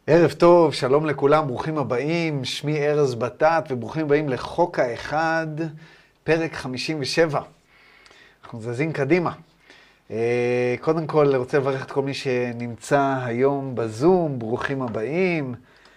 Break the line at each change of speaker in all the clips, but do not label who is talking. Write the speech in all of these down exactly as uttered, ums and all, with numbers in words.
ערב טוב, שלום לכולם, ברוכים הבאים, שמי ארז בטט וברוכים הבאים לחוק האחד, פרק חמישים ושבע. אנחנו זזים קדימה. קודם כל, אני רוצה לברך את כל מי שנמצא היום בזום, ברוכים הבאים,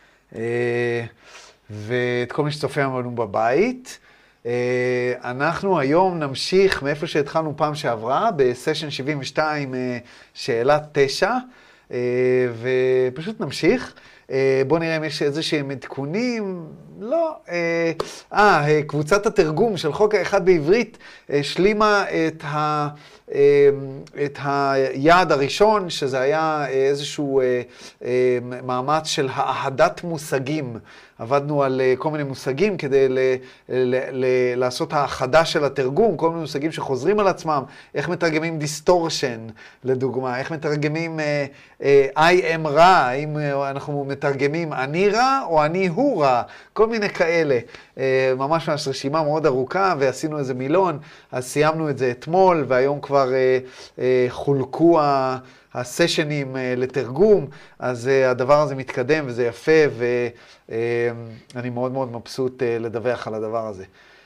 ואת כל מי שצופה לנו בבית. אנחנו היום נמשיך מאיפה שהתחלנו פעם שעברה, בסשן שבעים ושתיים, שאלה תשע, ופשוט נמשיך. בואו נראה אם יש איזה שהם עדכונים. לא. אה, קבוצת התרגום של חוק האחד בעברית השלימה את ה... את היעד הראשון, שזה היה איזשהו מאמץ של האחדת מושגים. עבדנו על כל מיני מושגים כדי ל- ל- ל- לעשות האחדה של התרגום, כל מיני מושגים שחוזרים על עצמם, איך מתרגמים דיסטורשן, לדוגמה, איך מתרגמים uh, uh, I am רע, האם אנחנו מתרגמים אני רע או אני הוא רע, כל מיני כאלה. Uh, ממש ממש רשימה מאוד ארוכה, ועשינו איזה מילון, אז סיימנו את זה אתמול, והיום כבר uh, uh, חולקו ה... הסשנים לתרגום, אז הדבר הזה מתקדם וזה יפה, ואני מאוד מאוד מבסוט לדווח על הדבר הזה.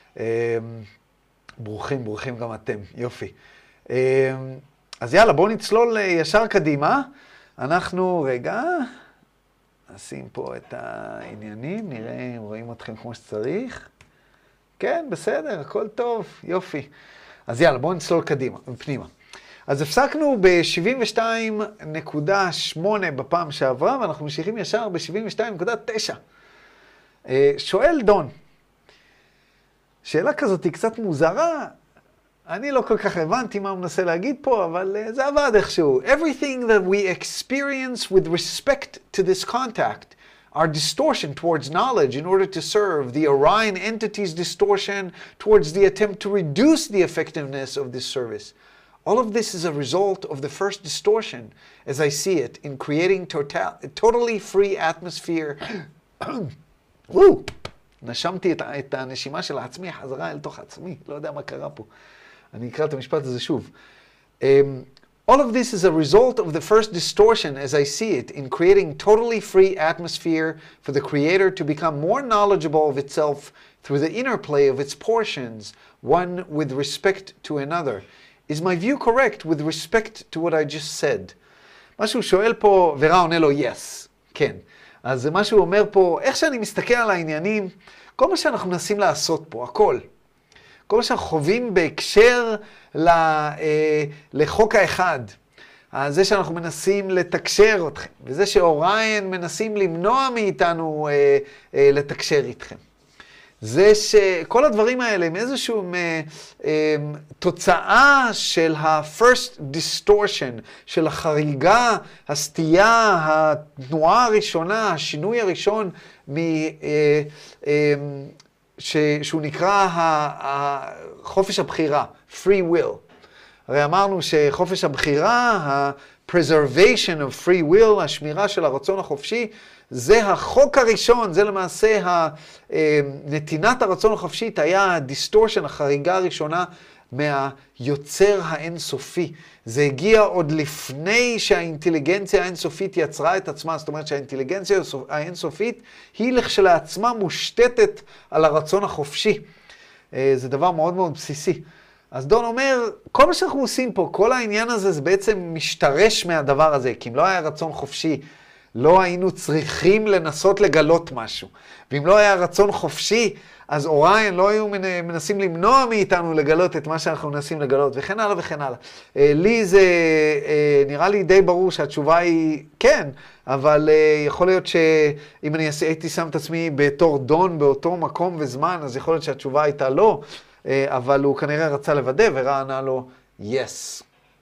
ברוכים, ברוכים גם אתם, יופי. אז יאללה, בואו נצלול ישר קדימה. אנחנו, רגע, נשים פה את העניינים, נראה, רואים אתכם כמו שצריך. כן, בסדר, הכל טוב, יופי. אז יאללה, בואו נצלול קדימה, פנימה. אז הפסקנו ב-שבעים ושתיים נקודה שמונה בפעם שעברה, ואנחנו ממשיכים ישר ב-שבעים ושתיים נקודה תשע. שואל דון, שאלה כזאת היא קצת מוזרה, אני לא כל כך הבנתי מה הוא מנסה להגיד פה, אבל זה עבד איכשהו. Everything that we experience with respect to this contact are distortion towards knowledge in order to serve the Orion entity's distortion towards the attempt to reduce the effectiveness of this service. All of this is a result of the first distortion, as I see it, in creating total, a totally free atmosphere. וואו, נשמתי את, את הנשימה של עצמי חזרה אל תוך עצמי, לא יודע מה קרה פה. אני אקרא את המשפט הזה שוב. Um, all of this is a result of the first distortion, as I see it, in creating totally free atmosphere for the creator to become more knowledgeable of itself through the interplay of its portions, one with respect to another. Is my view correct with respect to what I just said? מה שהוא שואל פה, ורע עונה לו yes, כן. אז מה שהוא אומר פה, איך שאני מסתכל על העניינים, כל מה שאנחנו מנסים לעשות פה, הכל. כל מה שאנחנו חווים בהקשר ל, אה, לחוק האחד. זה שאנחנו מנסים לתקשר אתכם, וזה שאוריין מנסים למנוע מאיתנו אה, אה, לתקשר איתכם. זה שכל הדברים האלה הם איזושהי תוצאה של ה-first distortion, של החריגה, הסטייה, התנועה הראשונה, השינוי הראשון, שהוא נקרא חופש הבחירה, free will. הרי אמרנו שחופש הבחירה, ה-preservation of free will, השמירה של הרצון החופשי, זה החוק הראשון, זה למעשה נתינת הרצון החופשית, היה הדיסטורשן, החריגה הראשונה מהיוצר האינסופי. זה הגיע עוד לפני שהאינטליגנציה האינסופית יצרה את עצמה, זאת אומרת שהאינטליגנציה האינסופית היא לכשלעצמה מושתתת על הרצון החופשי. זה דבר מאוד מאוד בסיסי. אז דון אומר, כל מה שאנחנו עושים פה, כל העניין הזה זה בעצם משתרש מהדבר הזה, כי אם לא היה רצון חופשי, לא היינו צריכים לנסות לגלות משהו. ואם לא היה רצון חופשי, אז אוריין לא היו מנסים למנוע מאיתנו לגלות את מה שאנחנו מנסים לגלות, וכן הלאה וכן הלאה. לי זה נראה לי די ברור שהתשובה היא כן, אבל יכול להיות שאם אני הייתי שם את עצמי בתור דון באותו מקום וזמן, אז יכול להיות שהתשובה הייתה לא, אבל הוא כנראה רצה לוודא ורע ענה לו yes.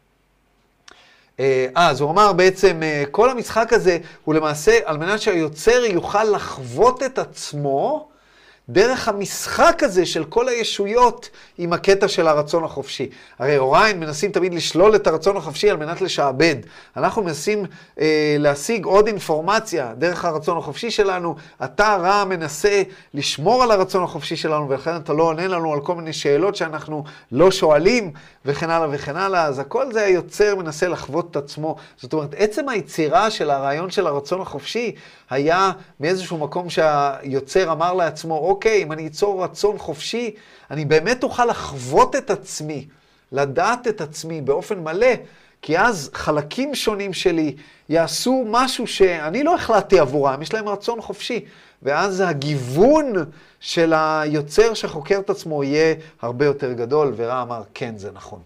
אז הוא אמר בעצם, כל המשחק הזה הוא למעשה על מנת שהיוצר יוכל לחוות את עצמו, דרך המשחק הזה של כל הישויות עם הקטע של הרצון החופשי. הרי אוריין מנסים תמיד לשלול את הרצון החופשי על מנת לשעבד. אנחנו מנסים אה, להשיג עוד אינפורמציה דרך הרצון החופשי שלנו. אתה רע מנסה לשמור על הרצון החופשי שלנו, ולכן אתה לא עונה לנו על כל מיני שאלות שאנחנו לא שואלים, וכן הלאה וכן הלאה. אז הכל זה היוצר מנסה לחוות את עצמו. זאת אומרת, עצם היצירה של הרעיון של הרצון החופשי היה מאיזשהו מקום שהיוצר אמר לעצמו, אוקיי, אם אני אצור רצון חופשי, אני באמת אוכל לחוות את עצמי, לדעת את עצמי באופן מלא, כי אז חלקים שונים שלי יעשו משהו שאני לא החלטתי עבורם, יש להם רצון חופשי, ואז הגיוון של היוצר שחוקר את עצמו יהיה הרבה יותר גדול, ורע אמר, כן, זה נכון.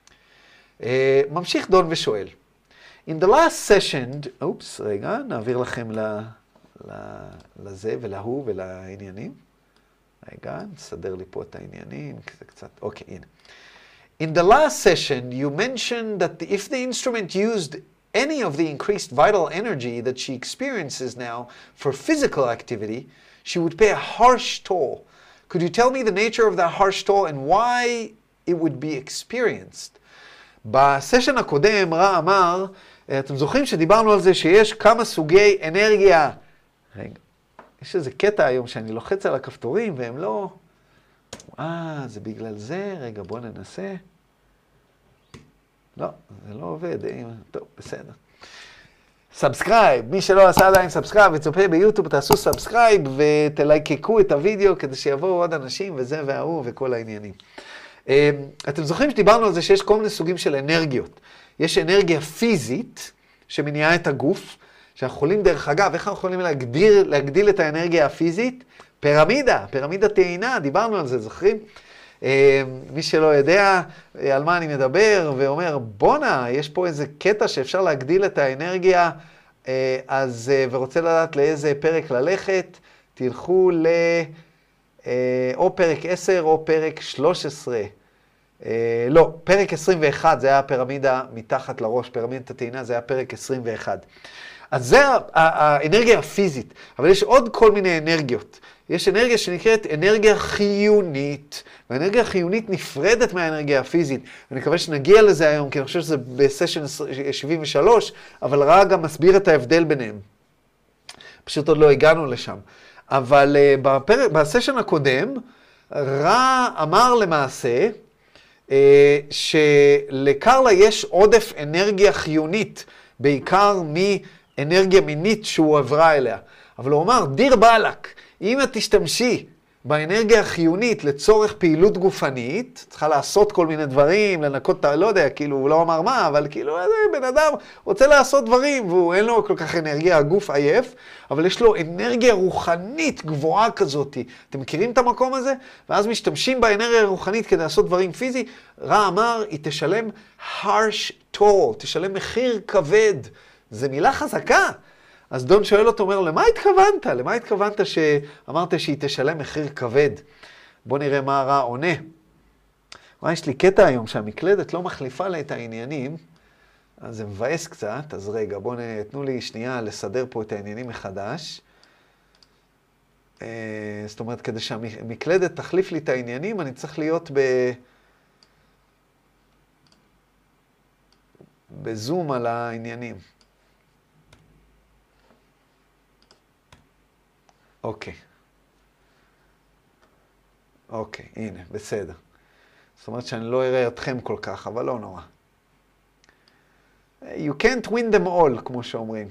ממשיך דון ושואל, In the last session, אופס, רגע, נעביר לכם ל, ל, לזה ולהוא ולעניינים. רגע, נסדר לי פה את העניינים, כי זה קצת, אוקיי, הנה. In the last session, you mentioned that if the instrument used any of the increased vital energy that she experiences now for physical activity, she would pay a harsh toll. Could you tell me the nature of that harsh toll and why it would be experienced? בסשן הקודם רע אמר, אתם זוכרים שדיברנו על זה שיש כמה סוגי אנרגיה. רגע, יש איזה קטע היום שאני לוחץ על הכפתורים והם לא... אה, זה בגלל זה. רגע, בוא ננסה. לא, זה לא עובד. טוב, בסדר. סאבסקרייב. מי שלא עשה עדיין סאבסקרייב וצופה ביוטיוב, תעשו סאבסקרייב ותלייקקו את הוידאו כדי שיבואו עוד אנשים וזה וההוא וכל העניינים. אתם זוכרים שדיברנו על זה שיש כל מיני סוגים של אנרגיות. יש אנרגיה פיזית שמניעה את הגוף, שאנחנו יכולים דרך אגב, איך אנחנו יכולים להגדיר, להגדיל את האנרגיה הפיזית? פירמידה, פירמידה טעינה, דיברנו על זה, זוכרים? מי שלא יודע על מה אני מדבר ואומר, בונה, יש פה איזה קטע שאפשר להגדיל את האנרגיה, אז, ורוצה לדעת לאיזה פרק ללכת, תלכו ל... או פרק עשר או פרק שלוש עשרה. לא, פרק עשרים ואחת, זה היה הפירמידה מתחת לראש, פירמידת הטעינה, זה היה פרק עשרים ואחת. אז זה האנרגיה הפיזית, אבל יש עוד כל מיני אנרגיות. יש אנרגיה שנקראת אנרגיה חיונית, והאנרגיה החיונית נפרדת מהאנרגיה הפיזית. אני מקווה שנגיע לזה היום, כי אני חושב שזה בסשן שבעים ושלוש, אבל רע גם מסביר את ההבדל ביניהם. פשוט עוד לא הגענו לשם. אבל uh, בפרק, בסשן הקודם, רע אמר למעשה uh, שלקרלה יש עודף אנרגיה חיונית, בעיקר מאנרגיה מינית שהוא עברה אליה. אבל הוא אמר, דיר בלק, אם את תשתמשי באנרגיה החיונית לצורך פעילות גופנית, צריכה לעשות כל מיני דברים, לנקות, לא יודע, כאילו, הוא לא אמר מה, אבל כאילו, בן אדם רוצה לעשות דברים, והוא אין לו כל כך אנרגיה, הגוף עייף, אבל יש לו אנרגיה רוחנית גבוהה כזאת. אתם מכירים את המקום הזה? ואז משתמשים באנרגיה הרוחנית כדי לעשות דברים פיזי. רע אמר, היא תשלם harsh toll, תשלם מחיר כבד. זו מילה חזקה. אז דון שואל אותו, אומר, למה התכוונת? למה התכוונת שאמרת שהיא תשלם מחיר כבד? בוא נראה מה הרע עונה. מה, יש לי קטע היום שהמקלדת לא מחליפה לה את העניינים, אז זה מבאס קצת, אז רגע, בואו תנו לי שנייה לסדר פה את העניינים מחדש. זאת אומרת, כדי שהמקלדת תחליף לי את העניינים, אני צריך להיות ב... בזום על העניינים. אוקיי. אוקיי, הנה, בסדר. זאת אומרת שאני לא אראה אתכם כל כך, אבל לא נורא. You can't win them all, כמו שאומרים.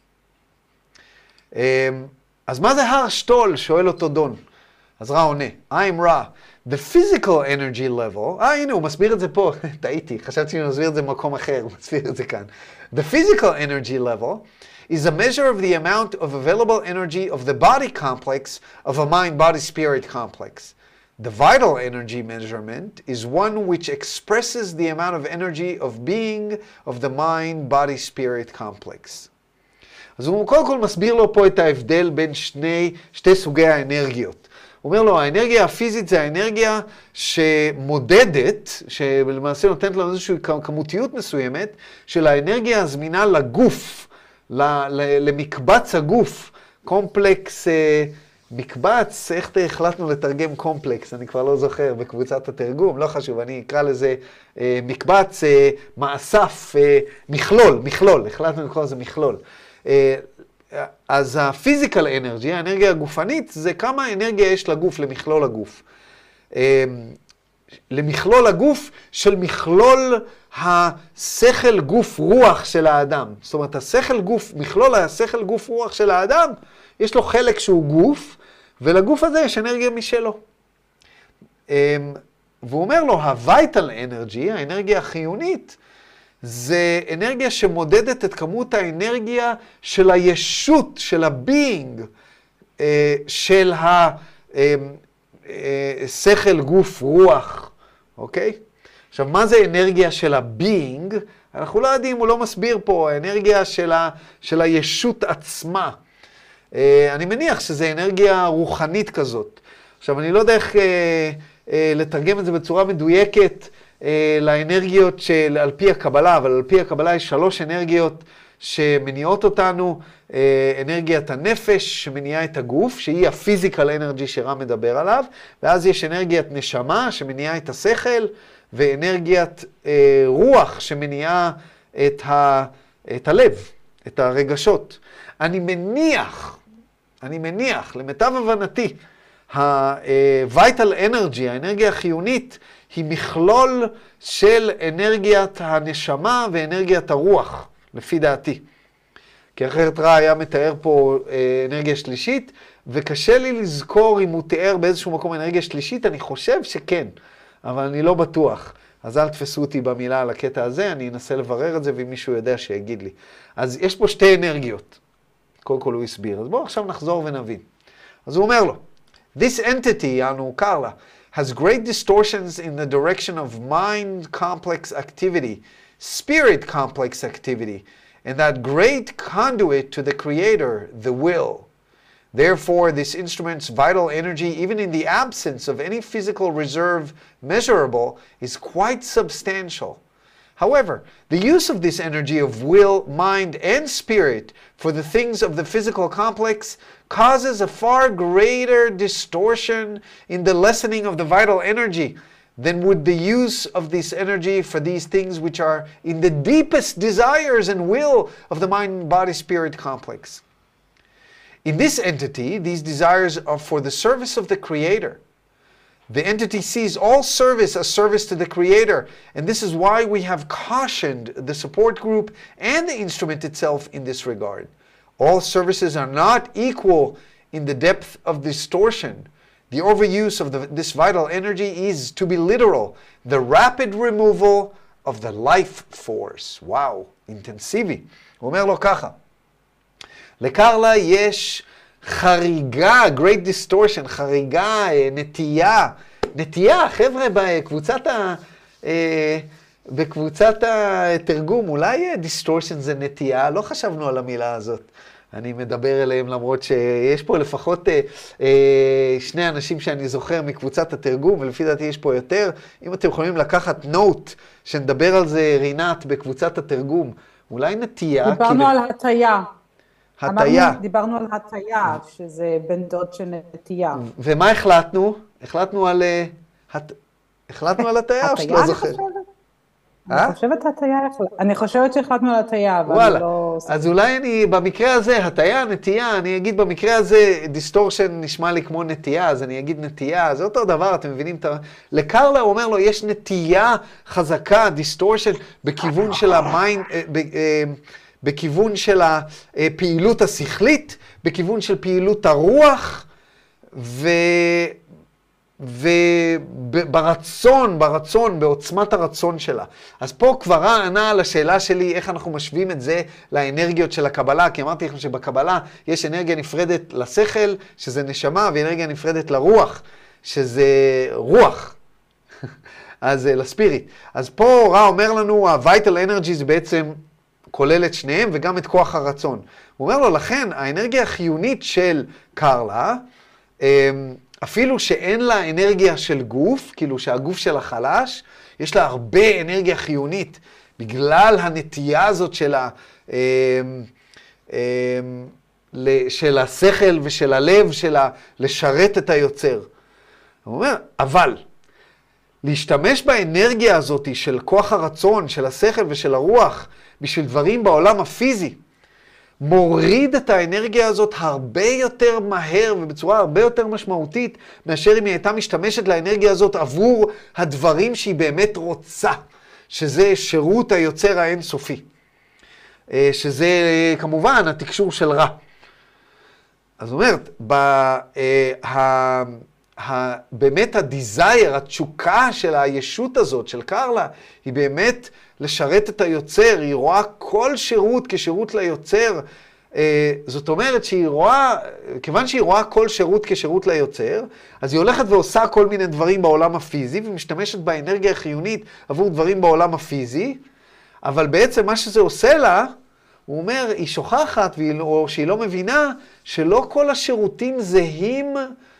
אז מה זה הר שטול? שואל אותו דון. אז רע עונה. I'm רע. The physical energy level, אה, הנה, הוא מסביר את זה פה. טעיתי, חשבתי שאני מסביר את זה במקום אחר, הוא מסביר את זה כאן. The physical energy level is a measure of the amount of available energy of the body complex of a mind-body-spirit complex. The vital energy measurement is one which expresses the amount of energy of being of the mind-body-spirit complex. אז הוא קודם כל מסביר לו פה את ההבדל בין שני, שתי סוגי האנרגיות. הוא אומר לו, האנרגיה הפיזית זה האנרגיה שמודדת, שלמעשה נותנת לנו איזושהי כמותיות מסוימת, של האנרגיה הזמינה לגוף, למקבץ הגוף, קומפלקס מקבץ, איך החלטנו לתרגם קומפלקס, אני כבר לא זוכר, בקבוצת התרגום, לא חשוב, אני אקרא לזה אה, מקבץ, אה, מאסף, אה, מכלול, מכלול, החלטנו לקרוא לזה מכלול. אה, אז הפיזיקל אנרגי, האנרגיה הגופנית, זה כמה אנרגיה יש לגוף, למכלול הגוף. אה, למכלול הגוף של מכלול השכל גוף רוח של האדם. זאת אומרת, השכל גוף, מכלול השכל גוף רוח של האדם, יש לו חלק שהוא גוף, ולגוף הזה יש אנרגיה משלו. והוא אומר לו, ה-vital energy, האנרגיה החיונית, זה אנרגיה שמודדת את כמות האנרגיה של הישות, של ה-being, של השכל גוף רוח. אוקיי? עכשיו, מה זה אנרגיה של ה-being? אנחנו לא יודעים, הוא לא מסביר פה, האנרגיה של, ה, של הישות עצמה. אה, אני מניח שזה אנרגיה רוחנית כזאת. עכשיו, אני לא יודע איך אה, אה, לתרגם את זה בצורה מדויקת אה, לאנרגיות של, על פי הקבלה, אבל על פי הקבלה יש שלוש אנרגיות שמניעות אותנו, אה, אנרגיית הנפש שמניעה את הגוף, שהיא הפיזיקל אנרגי שרם מדבר עליו, ואז יש אנרגיית נשמה שמניעה את השכל, ואנרגיית אה, רוח שמניעה את, ה, את הלב, את הרגשות. אני מניח, אני מניח, למיטב הבנתי, ה-vital energy, האנרגיה החיונית, היא מכלול של אנרגיית הנשמה ואנרגיית הרוח, לפי דעתי. כי אחרת רע היה מתאר פה אה, אנרגיה שלישית, וקשה לי לזכור אם הוא תיאר באיזשהו מקום אנרגיה שלישית, אני חושב שכן. אבל אני לא בטוח. אז אל תפסו אותי במילה על הקטע הזה, אני אנסה לברר את זה, ואם מישהו יודע שיגיד לי. אז יש פה שתי אנרגיות. קודם כל הוא הסביר. אז בואו עכשיו נחזור ונבין. אז הוא אומר לו, This entity, יענו קרלה, has great distortions in the direction of mind complex activity, spirit complex activity, and that great conduit to the creator, the will. Therefore, this instrument's vital energy, even in the absence of any physical reserve measurable, is quite substantial. However, the use of this energy of will, mind, and spirit for the things of the physical complex causes a far greater distortion in the lessening of the vital energy than would the use of this energy for these things which are in the deepest desires and will of the mind-body-spirit complex. In this entity, these desires are for the service of the Creator. The entity sees all service as service to the Creator, and this is why we have cautioned the support group and the instrument itself in this regard. All services are not equal in the depth of distortion. The overuse of the, this vital energy is, to be literal, the rapid removal of the life force. Wow, אינטנסיבי. הוא אומר לו ככה, לקרלה יש חריגה, great distortion, חריגה, נטייה, נטייה, חבר'ה, בקבוצת, ה, בקבוצת התרגום, אולי distortion זה נטייה, לא חשבנו על המילה הזאת. אני מדבר אליהם למרות שיש פה לפחות שני אנשים שאני זוכר מקבוצת התרגום, ולפי דעתי יש פה יותר. אם אתם יכולים לקחת נוט, שנדבר על זה רינת בקבוצת התרגום, אולי נטייה.
דיברנו כאילו... על הטיה.
הטיה.
דיברנו על הטיה, שזה בן דוד של נטייה.
ומה החלטנו? החלטנו על... הט... החלטנו על הטיה או שלא זוכר?
אני חושבת הטיה, אני חושבת שהחלטנו על הטיה, אבל לא...
אז אולי אני, במקרה הזה, הטיה, נטייה, אני אגיד במקרה הזה, דיסטורשן נשמע לי כמו נטייה, אז אני אגיד נטייה, זה אותו דבר, אתם מבינים? לקרלה הוא אומר לו, יש נטייה חזקה, דיסטורשן, בכיוון של המיינד, בכיוון של הפעילות השכלית, בכיוון של פעילות הרוח, ו... וברצון, ברצון, בעוצמת הרצון שלה. אז פה כבר ענה על השאלה שלי, איך אנחנו משווים את זה לאנרגיות של הקבלה, כי אמרתי לכם שבקבלה יש אנרגיה נפרדת לשכל, שזה נשמה, ואנרגיה נפרדת לרוח, שזה רוח. אז לספיריט. אז פה רע אומר לנו, ה-vital energy זה בעצם כולל את שניהם, וגם את כוח הרצון. הוא אומר לו, לכן, האנרגיה החיונית של קרלה, אפילו שאין לה אנרגיה של גוף, כאילו שהגוף שלה חלש, יש לה הרבה אנרגיה חיונית, בגלל הנטייה הזאת של ה... של השכל ושל הלב, של לשרת את היוצר. הוא אומר, אבל להשתמש באנרגיה הזאת של כוח הרצון, של השכל ושל הרוח, בשביל דברים בעולם הפיזי, מוריד את האנרגיה הזאת הרבה יותר מהר ובצורה הרבה יותר משמעותית, מאשר אם היא הייתה משתמשת לאנרגיה הזאת עבור הדברים שהיא באמת רוצה, שזה שירות היוצר האינסופי. שזה כמובן התקשור של רע. אז זאת אומרת, בה, באמת הדיזייר, התשוקה של הישות הזאת, של קרלה, היא באמת לשרת את היוצר, היא רואה כל שירות כשירות ליוצר. זאת אומרת שהיא רואה, כיוון שהיא רואה כל שירות כשירות ליוצר, אז היא הולכת ועושה כל מיני דברים בעולם הפיזי, ומשתמשת באנרגיה החיונית עבור דברים בעולם הפיזי, אבל בעצם מה שזה עושה לה, הוא אומר, היא שוכחת, או שהיא לא מבינה, שלא כל השירותים זהים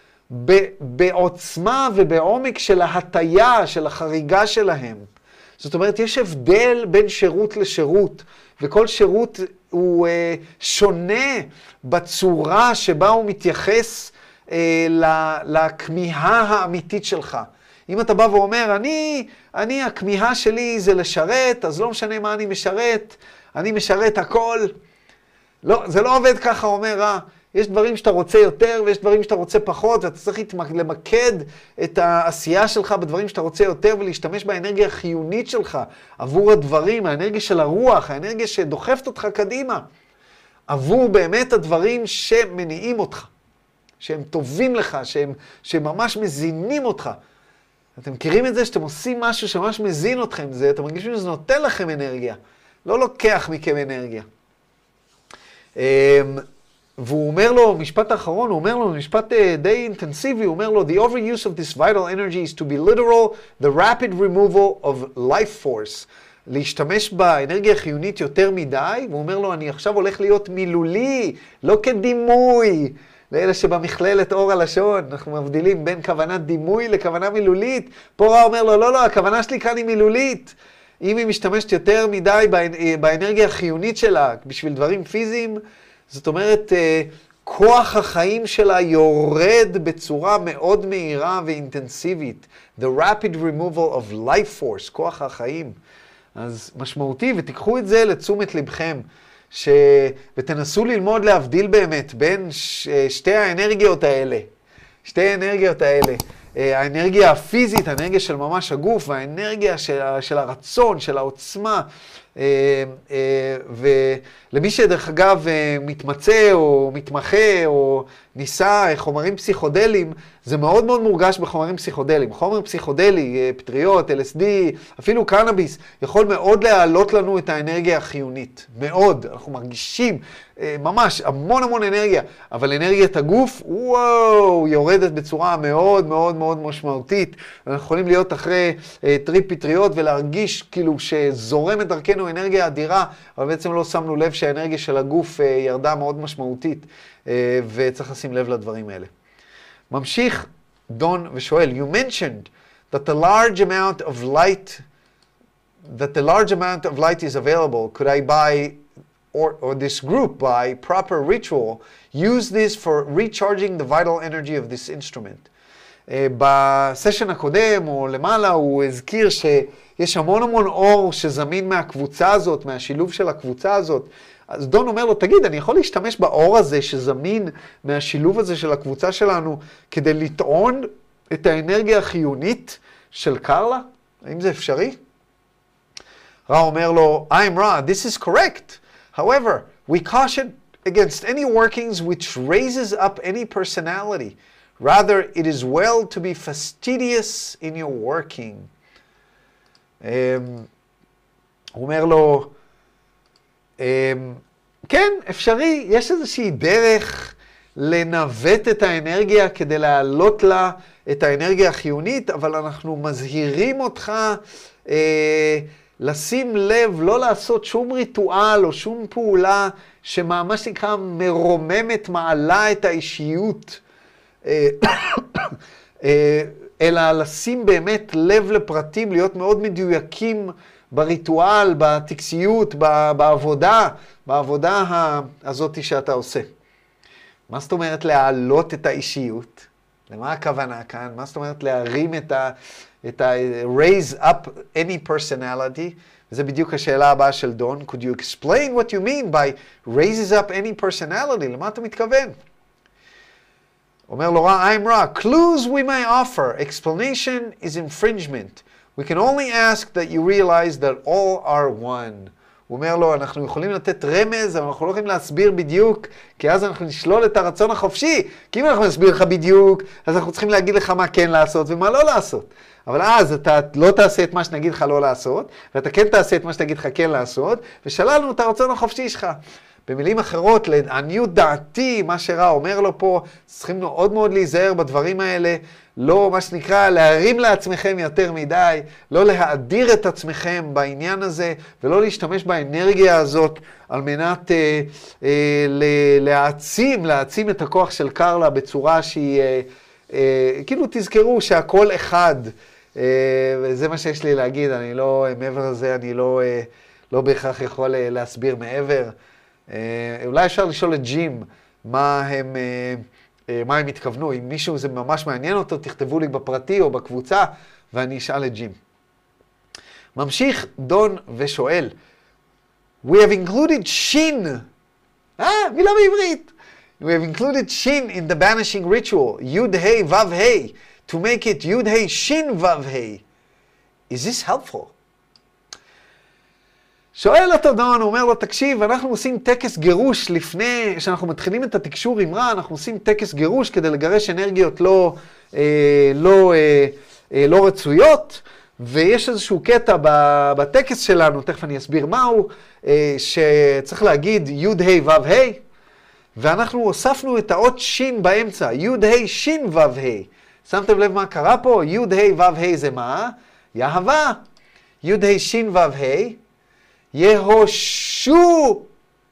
בעוצמה ובעומק של ההטיה, של החריגה שלהם. זאת אומרת, יש הבדל בין שירות לשירות, וכל שירות הוא אה, שונה בצורה שבה הוא מתייחס אה, לכמיהה האמיתית שלך. אם אתה בא ואומר, אני, אני, הכמיהה שלי זה לשרת, אז לא משנה מה אני משרת, אני משרת הכל. לא, זה לא עובד ככה, אומר רע. יש דברים שאתה רוצה יותר ויש דברים שאתה רוצה פחות, ואתה צריך למקד את העשייה שלך בדברים שאתה רוצה יותר, ולהשתמש באנרגיה החיונית שלך עבור הדברים, האנרגיה של הרוח, האנרגיה שדוחפת אותך קדימה, עבור באמת הדברים שמניעים אותך, שהם טובים לך, שהם, שהם ממש מזינים אותך. אתם מכירים את זה שאתם עושים משהו שממש מזין אתכם, זה, אתם מרגישים שזה נותן לכם אנרגיה, לא לוקח מכם אנרגיה. והוא אומר לו, משפט האחרון, הוא אומר לו, משפט די אינטנסיבי, הוא אומר לו, the overuse of this vital energy is to be literal, the rapid removal of life force. להשתמש באנרגיה החיונית יותר מדי, והוא אומר לו, אני עכשיו הולך להיות מילולי, לא כדימוי. לאלה שבמכללת אור הלשון, אנחנו מבדילים בין כוונת דימוי לכוונה מילולית. פה רע אומר לו, לא, לא, הכוונה שלי כאן היא מילולית. אם היא משתמשת יותר מדי באנרגיה החיונית שלה, בשביל דברים פיזיים, זאת אומרת, כוח החיים שלה יורד בצורה מאוד מהירה ואינטנסיבית. The rapid removal of life force, כוח החיים. אז משמעותי, ותיקחו את זה לתשומת לבכם, ש... ותנסו ללמוד להבדיל באמת בין ש... שתי האנרגיות האלה. שתי האנרגיות האלה. האנרגיה הפיזית, האנרגיה של ממש הגוף, והאנרגיה של, של הרצון, של העוצמה. ולמי שדרך אגב מתמצא או מתמחה או ניסה חומרים פסיכודליים, זה מאוד מאוד מורגש בחומרים פסיכודליים. חומר פסיכודלי, פטריות, אל אס די, אפילו קנאביס, יכול מאוד להעלות לנו את האנרגיה החיונית. מאוד, אנחנו מרגישים ממש המון המון אנרגיה, אבל אנרגיית הגוף, וואו, יורדת בצורה מאוד מאוד מאוד משמעותית. אנחנו יכולים להיות אחרי טריפ פטריות ולהרגיש כאילו שזורמת דרכנו אנרגיה אדירה, אבל בעצם לא שמנו לב שהאנרגיה של הגוף ירדה מאוד משמעותית, וצריך לשים לב לדברים האלה. ממשיך דון ושואל, you mentioned that the large amount of light, that the large amount of light is available. Could I buy, or, or this group by proper ritual, use this for recharging the vital energy of this instrument? Uh, בסשן הקודם או למעלה הוא הזכיר שיש המון המון אור שזמין מהקבוצה הזאת, מהשילוב של הקבוצה הזאת. אז דון אומר לו, תגיד, אני יכול להשתמש באור הזה שזמין מהשילוב הזה של הקבוצה שלנו כדי לטעון את האנרגיה החיונית של קרלה? האם זה אפשרי? רע אומר לו, I'm Ra, this is correct. However, we caution against any workings which raises up any personality. Rather, it is well to be fastidious in your working. Um, הוא אומר לו, um, כן, אפשרי, יש איזושהי דרך לנווט את האנרגיה כדי להעלות לה את האנרגיה החיונית, אבל אנחנו מזהירים אותך אה, לשים לב, לא לעשות שום ריטואל או שום פעולה שממש נקרא מרוממת, מעלה את האישיות, אה, אה, אלא לשים באמת לב לפרטים, להיות מאוד מדויקים בריטואל, בטקסיות, בעבודה, בעבודה הזאת שאתה עושה. מה זאת אומרת להעלות את האישיות? למה הכוונה כאן? מה זאת אומרת להרים את ה... את ה... raise up any personality? וזה בדיוק השאלה הבאה של דון. Could you explain what you mean by raises up any personality? למה אתה מתכוון? אומר לו רע, I'm raw. Clues we may offer. Explanation is infringement. We can only ask that you realize that all are one. הוא אומר לו, אנחנו יכולים לתת רמז, אבל אנחנו לא יכולים להסביר בדיוק, כי אז אנחנו נשלול את הרצון החופשי. כי אם אנחנו נסביר לך בדיוק, אז אנחנו צריכים להגיד לך מה כן לעשות ומה לא לעשות. אבל אז אתה לא תעשה את מה שנגיד לך לא לעשות, ואתה כן תעשה את מה שנגיד לך כן לעשות, ושללנו את הרצון החופשי שלך. במילים אחרות, לעניות דעתי, מה שרע אומר לו פה, צריכים מאוד מאוד להיזהר בדברים האלה, לא מה שנקרא להרים לעצמכם יותר מדי, לא להאדיר את עצמכם בעניין הזה, ולא להשתמש באנרגיה הזאת על מנת אה, אה, להעצים, להעצים את הכוח של קרלה בצורה שהיא, אה, אה, כאילו תזכרו שהכל אחד, אה, וזה מה שיש לי להגיד, אני לא, מעבר לזה אני לא, אה, לא בהכרח יכול אה, להסביר מעבר. Uh, אולי אפשר לשאול את ג'ים מה הם, uh, uh, מה הם התכוונו. אם מישהו זה ממש מעניין אותו, תכתבו לי בפרטי או בקבוצה, ואני אשאל את ג'ים. ממשיך דון ושואל, We have included shin. אה, מילה בעברית. We have included shin in the banishing ritual, yud hey vav hey, to make it yud hey shin vav hey. Is this helpful? שואל אותו דון, הוא אומר לו, תקשיב, אנחנו עושים טקס גירוש לפני שאנחנו מתחילים את התקשור עם רע, אנחנו עושים טקס גירוש כדי לגרש אנרגיות לא, אה, לא, אה, אה, לא רצויות, ויש איזשהו קטע בטקס שלנו, תכף אני אסביר מהו, אה, שצריך להגיד יוד ה' ו' ה', ואנחנו הוספנו את האות שין באמצע, יוד ה' שין ו' ה'. שמתם לב מה קרה פה? יוד ה' ו' ה' זה מה? יהבה. יוד ה' שין ו' ה'. יהושע.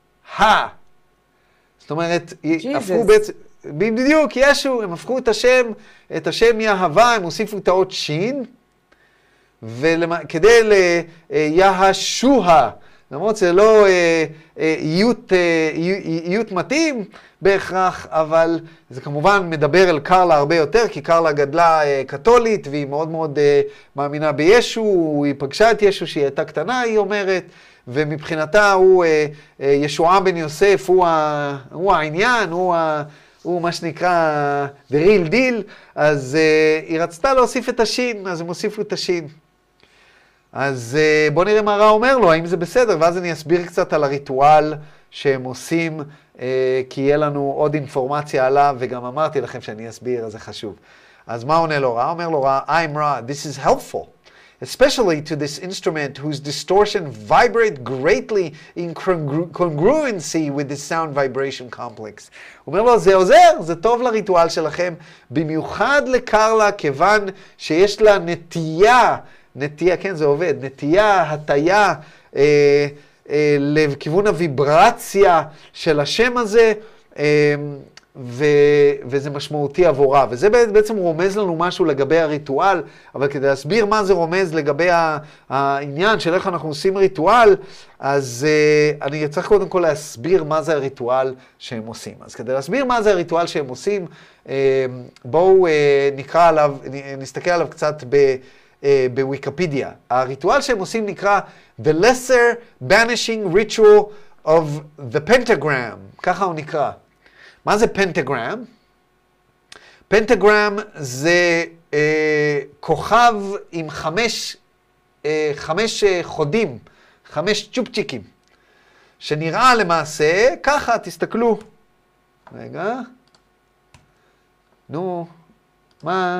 זאת אומרת, הפכו בעצם, בדיוק, ישו, הם הפכו את השם, את השם יהבה, הם הוסיפו את האות שין, וכדי ליהשוע, למרות זה לא איות מתאים בהכרח, אבל זה כמובן מדבר אל קרלה הרבה יותר, כי קרלה גדלה קתולית, והיא מאוד מאוד מאמינה בישו, היא פגשה את ישו שהיא הייתה קטנה, היא אומרת, ומבחינתה הוא, ישועה בן יוסף, הוא, ה, הוא העניין, הוא, ה, הוא מה שנקרא the real deal, אז היא רצתה להוסיף את השין, אז הם הוסיפו את השין. אז בוא נראה מה רע אומר לו, האם זה בסדר, ואז אני אסביר קצת על הריטואל שהם עושים, כי יהיה לנו עוד אינפורמציה עליו, וגם אמרתי לכם שאני אסביר, אז זה חשוב. אז מה עונה לו רע? אומר לו רע, I'm רע, this is helpful, especially to this instrument whose distortion vibrate greatly in congruency with the sound vibration complex. הוא אומר לו, זה עוזר, זה טוב לריטואל שלכם, במיוחד לקרלה, כיוון שיש לה נטייה, נטייה, כן, זה עובד, נטייה, הטיה, אה, אה, לכיוון הוויברציה של השם הזה, אה, ו, וזה משמעותי עבורה. וזה בעצם רומז לנו משהו לגבי הריטואל, אבל כדי להסביר מה זה רומז לגבי העניין של איך אנחנו עושים ריטואל, אז אה, אני צריך קודם כל להסביר מה זה הריטואל שהם עושים. אז כדי להסביר מה זה הריטואל שהם עושים, אה, בואו אה, נקרא עליו, נסתכל עליו קצת ב... בוויקיפדיה. הריטואל שהם עושים נקרא The Lesser Banishing Ritual of the Pentagram. ככה הוא נקרא. מה זה פנטגרם? פנטגרם זה אה, כוכב עם חמש, אה, חמש אה, חודים, חמש צ'ופצ'יקים, שנראה למעשה ככה, תסתכלו. רגע. נו, מה?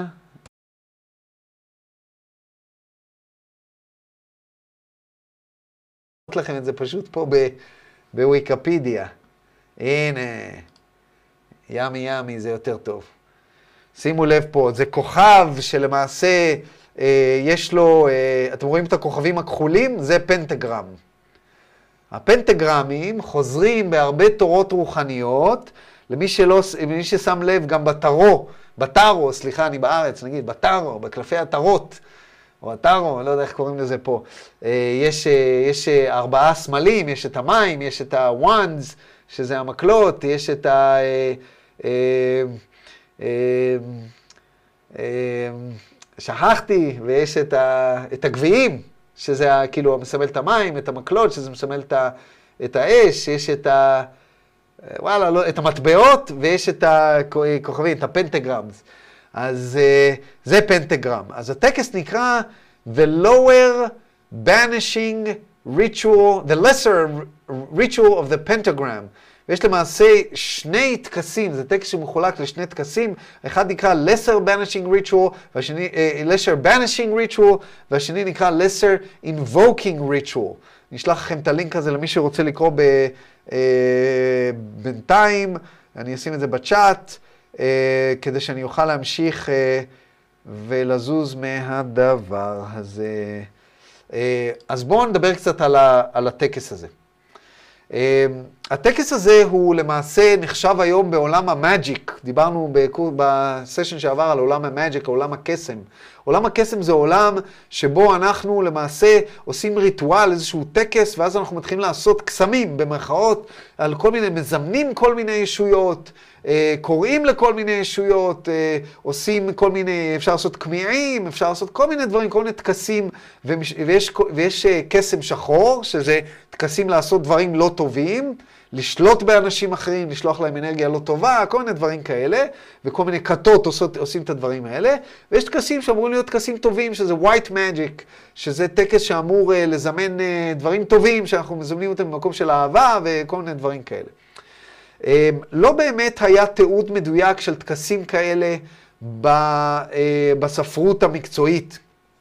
לכם את זה פשוט פה בוויקיפדיה. הנה, ימי ימי, זה יותר טוב. שימו לב פה, זה כוכב שלמעשה אה, יש לו, אה, אתם רואים את הכוכבים הכחולים? זה פנטגרם. הפנטגרמים חוזרים בהרבה תורות רוחניות, למי שלא, למי ששם לב גם בטרו, בטרו, סליחה, אני בארץ, נגיד, בטרו, בקלפי הטרות, או הטרו, לא יודע איך קוראים לזה פה. יש, יש ארבעה סמלים, יש את המים, יש את הוואנדס, שזה המקלות, יש את, ה, שכחתי, ויש את, ה, את הגביעים, שזה כאילו מסמל את המים, את המקלות, שזה מסמל את, ה, את האש, יש את ה... וואלה, לא, את המטבעות, ויש את הכוכבים, את הפנטגרמס. אז זה פנטגרם. אז הטקס נקרא The Lower Banishing Ritual, The Lesser Ritual of the Pentagram. ויש למעשה שני טקסים, זה טקס שמחולק לשני טקסים, אחד נקרא Lesser Banishing Ritual, והשני, uh, Lesser Banishing Ritual, והשני נקרא Lesser Invoking Ritual. נשלח לכם את הלינק הזה למי שרוצה לקרוא ב, uh, בינתיים, אני אשים את זה בצ'אט, uh, כדי שאני אוכל להמשיך uh, ולזוז מהדבר הזה. Uh, אז בואו נדבר קצת על, ה, על הטקס הזה. Uh, הטקס הזה הוא למעשה נחשב היום בעולם המאג'יק. דיברנו בקור... בסשן שעבר על עולם המאג'יק, עולם הקסם. עולם הקסם זה עולם שבו אנחנו למעשה עושים ריטואל, איזשהו טקס, ואז אנחנו מתחילים לעשות קסמים במרכאות, על כל מיני, מזמנים כל מיני ישויות, uh, קוראים לכל מיני ישויות, uh, עושים כל מיני, אפשר לעשות קמיעים, אפשר לעשות כל מיני דברים, כל מיני טקסים, ויש, ויש uh, קסם שחור, שזה טקסים לעשות דברים לא טובים, לשלוט באנשים אחרים, לשלוח להם אנרגיה לא טובה, כל מיני דברים כאלה, וכל מיני כתות עושות, עושים את הדברים האלה. ויש טקסים שאמורים להיות טקסים טובים, שזה white magic, שזה טקס שאמור uh, לזמן uh, דברים טובים, שאנחנו מזמנים אותם במקום של אהבה, וכל מיני דברים כאלה. Um, לא באמת היה תיעוד מדויק של טקסים כאלה ב, uh, בספרות המקצועית.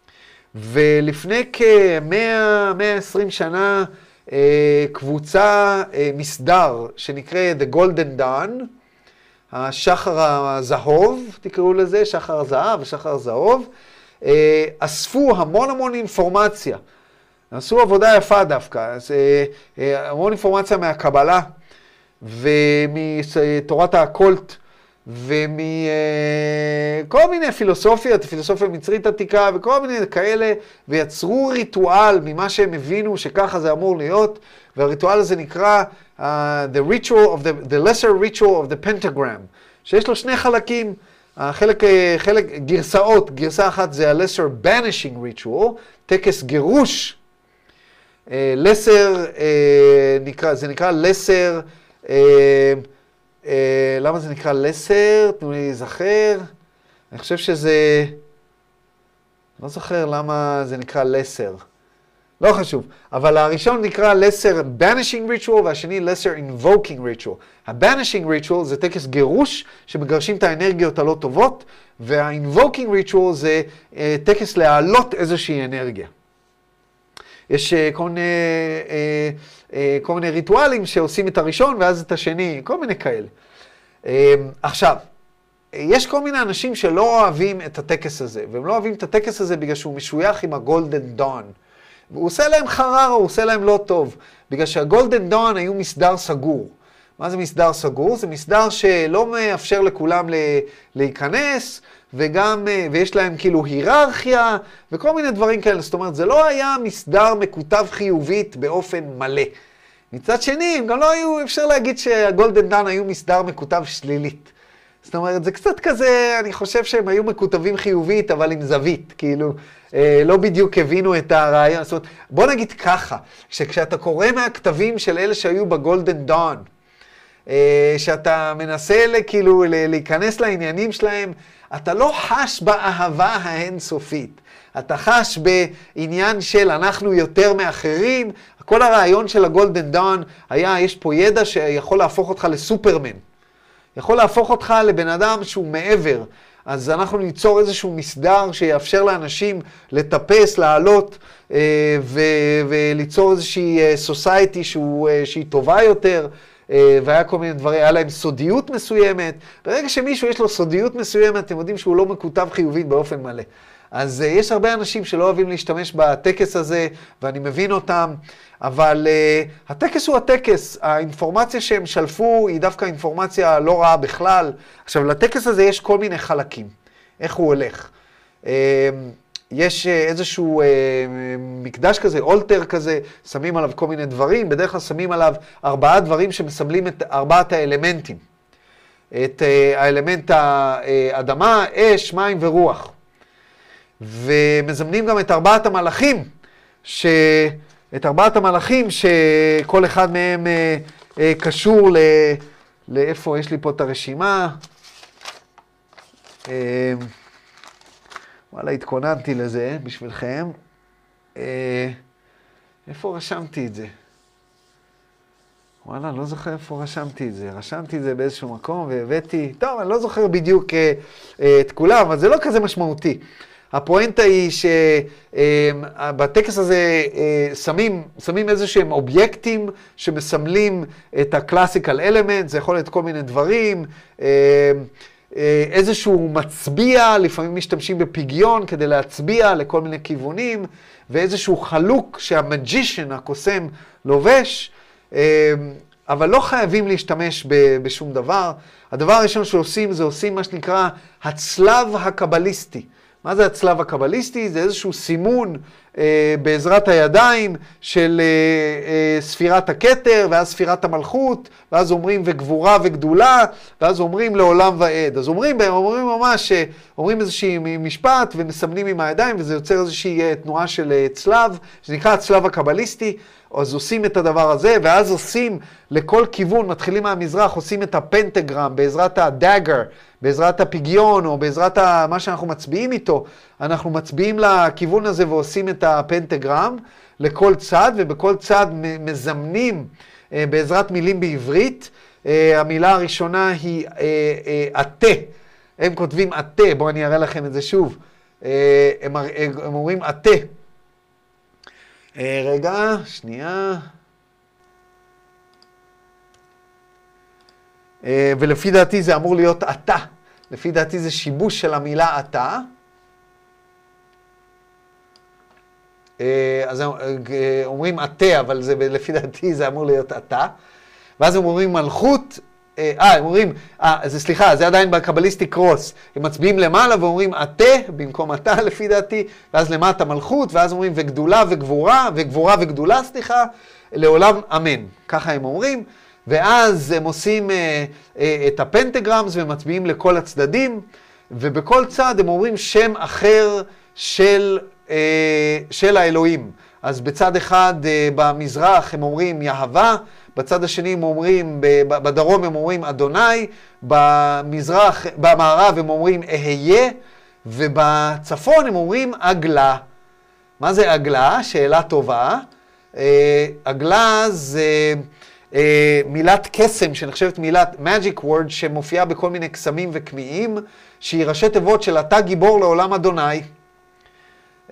ולפני כ-מאה עד מאה ועשרים שנה, Uh, קבוצה, uh, מסדר, שנקרא The Golden Dawn, השחר הזהוב, תקראו לזה, שחר הזהב ושחר הזהוב, uh, אספו המון המון אינפורמציה. עשו עבודה יפה דווקא, אז, uh, uh, המון אינפורמציה מהקבלה, ומתורת האקולט, ומכל uh, מיני פילוסופיות, פילוסופיה מצרית עתיקה וכל מיני כאלה, ויצרו ריטואל ממה שהם הבינו שככה זה אמור להיות, והריטואל הזה נקרא uh, the ritual of the, the lesser ritual of the pentagram, שיש לו שני חלקים, החלק, חלק, גרסאות, גרסה אחת זה ה-lesser banishing ritual, טקס גירוש, uh, lesser, uh, נקרא, זה נקרא lesser, uh, Uh, למה זה נקרא לסר? תנו לי זכר. אני חושב שזה... לא זוכר למה זה נקרא לסר. לא חשוב. אבל הראשון נקרא לסר banishing ritual, והשני לסר invoking ritual. ה-banishing ritual זה טקס גירוש שמגרשים את האנרגיות הלא טובות, וה-invoking ritual זה uh, טקס להעלות איזושהי אנרגיה. יש uh, כל מיני... Uh, כל מיני ריטואלים שעושים את הראשון ואז את השני, כל מיני כאלה. עכשיו, יש כל מיני אנשים שלא אוהבים את הטקס הזה, והם לא אוהבים את הטקס הזה בגלל שהוא משוייך עם הגולדן דון. והוא עושה להם חררה, הוא עושה להם לא טוב, בגלל שהגולדן דון היו מסדר סגור. מה זה מסדר סגור? זה מסדר שלא מאפשר לכולם להיכנס, וגם, ויש להם כאילו היררכיה, וכל מיני דברים כאלה. זאת אומרת, זה לא היה מסדר מקוטב חיובית באופן מלא. מצד שני, גם לא היו, אפשר להגיד שהגולדן דן היו מסדר מקוטב שלילית. זאת אומרת, זה קצת כזה, אני חושב שהם היו מקוטבים חיובית, אבל עם זווית, כאילו, אה, לא בדיוק הבינו את הרעיון. זאת אומרת, בוא נגיד ככה, שכשאתה קורא מהכתבים של אלה שהיו בגולדן דון, אה, שאתה מנסה כאילו להיכנס לעניינים שלהם, אתה לא חש באהבה האינסופית. אתה חש בעניין של אנחנו יותר מאחרים. כל הרעיון של הגולדן דון היה, יש פה ידע שיכול להפוך אותך לסופרמן. יכול להפוך אותך לבן אדם שהוא מעבר. אז אנחנו ניצור איזשהו מסדר שיאפשר לאנשים לטפס, לעלות, ו- וליצור איזושהי סוסייטי שהיא טובה יותר. והיה כל מיני דברים, היה להם סודיות מסוימת. ברגע שמישהו יש לו סודיות מסוימת, אתם יודעים שהוא לא מקוטב חיובית באופן מלא. אז uh, יש הרבה אנשים שלא אוהבים להשתמש בטקס הזה, ואני מבין אותם, אבל uh, הטקס הוא הטקס. האינפורמציה שהם שלפו היא דווקא אינפורמציה לא רעה בכלל. עכשיו, לטקס הזה יש כל מיני חלקים. איך הוא הולך? Uh, יש איזשהו אה, מקדש כזה, אולטר כזה, שמים עליו כל מיני דברים, בדרך כלל שמים עליו ארבעה דברים שמסמלים את ארבעת האלמנטים. את האלמנט האדמה, אש, מים ורוח. ומזמנים גם את ארבעת המלאכים, ש... את ארבעת המלאכים שכל אחד מהם קשור ל... לאיפה יש לי פה את הרשימה. וואלה, התכוננתי לזה בשבילכם. איפה רשמתי את זה? וואלה, לא זוכר איפה רשמתי את זה. רשמתי את זה באיזשהו מקום והבאתי... טוב, אני לא זוכר בדיוק את כולם, אבל זה לא כזה משמעותי. הפואנטה היא שבטקס הזה שמים, שמים איזשהם אובייקטים שמסמלים את הקלאסיקל אלמנט, זה יכול להיות כל מיני דברים, איזשהו מצביע, לפעמים משתמשים בפיגיון כדי להצביע לכל מיני כיוונים, ואיזשהו חלוק שהמג'ישן, הקוסם, לובש, אבל לא חייבים להשתמש בשום דבר. הדבר הראשון שעושים זה עושים מה שנקרא הצלב הקבליסטי. מה זה הצלב הקבליסטי? זה איזשהו סימון אה, בעזרת הידיים של אה, אה, ספירת הכתר, ואז ספירת המלכות, ואז אומרים וגבורה וגדולה, ואז אומרים לעולם ועד. אז אומרים, אומרים ממש, אומרים איזושהי משפט ומסמנים עם הידיים, וזה יוצר איזושהי תנועה של צלב, שנקרא הצלב הקבליסטי. אז עושים את הדבר הזה, ואז עושים לכל כיוון, מתחילים מהמזרח, עושים את הפנטגרם בעזרת הדאגר, בעזרת הפיגיון, או בעזרת מה שאנחנו מצביעים איתו, אנחנו מצביעים לכיוון הזה ועושים את הפנטגרם לכל צד, ובכל צד מזמנים בעזרת מילים בעברית. המילה הראשונה היא עתה. הם כותבים עתה, בואו אני אראה לכם את זה שוב. הם, הם אומרים עתה. רגע, שנייה. ולפי דעתי זה אמור להיות אתה. לפי דעתי זה שיבוש של המילה אתה. אז אומרים אתה, אבל זה, לפי דעתי זה אמור להיות אתה. ואז הם אומרים מלכות, אה, הם אומרים, אה, זה סליחה, זה עדיין בקבליסטי קרוס. הם מצביעים למעלה ואומרים אתה, במקום אתה לפי דעתי, ואז למטה מלכות, ואז אומרים וגדולה וגבורה, וגבורה וגדולה, סליחה, לעולם אמן. ככה הם אומרים. ואז הם עושים אה, אה, את הפנטגרמס ומצביעים לכל הצדדים, ובכל צד הם אומרים שם אחר של, אה, של האלוהים. אז בצד אחד אה, במזרח הם אומרים יהווה, בצד השני הם אומרים, בדרום הם אומרים אדוני, במזרח, במערב הם אומרים אהיה, ובצפון הם אומרים עגלה. מה זה עגלה? שאלה טובה. אה, עגלה זה... Uh, מילת קסם שנחשבת מילת magic word שמופיעה בכל מיני קסמים וקמיעים, שהיא ראשי תיבות של אתה גיבור לעולם אדוני. Uh,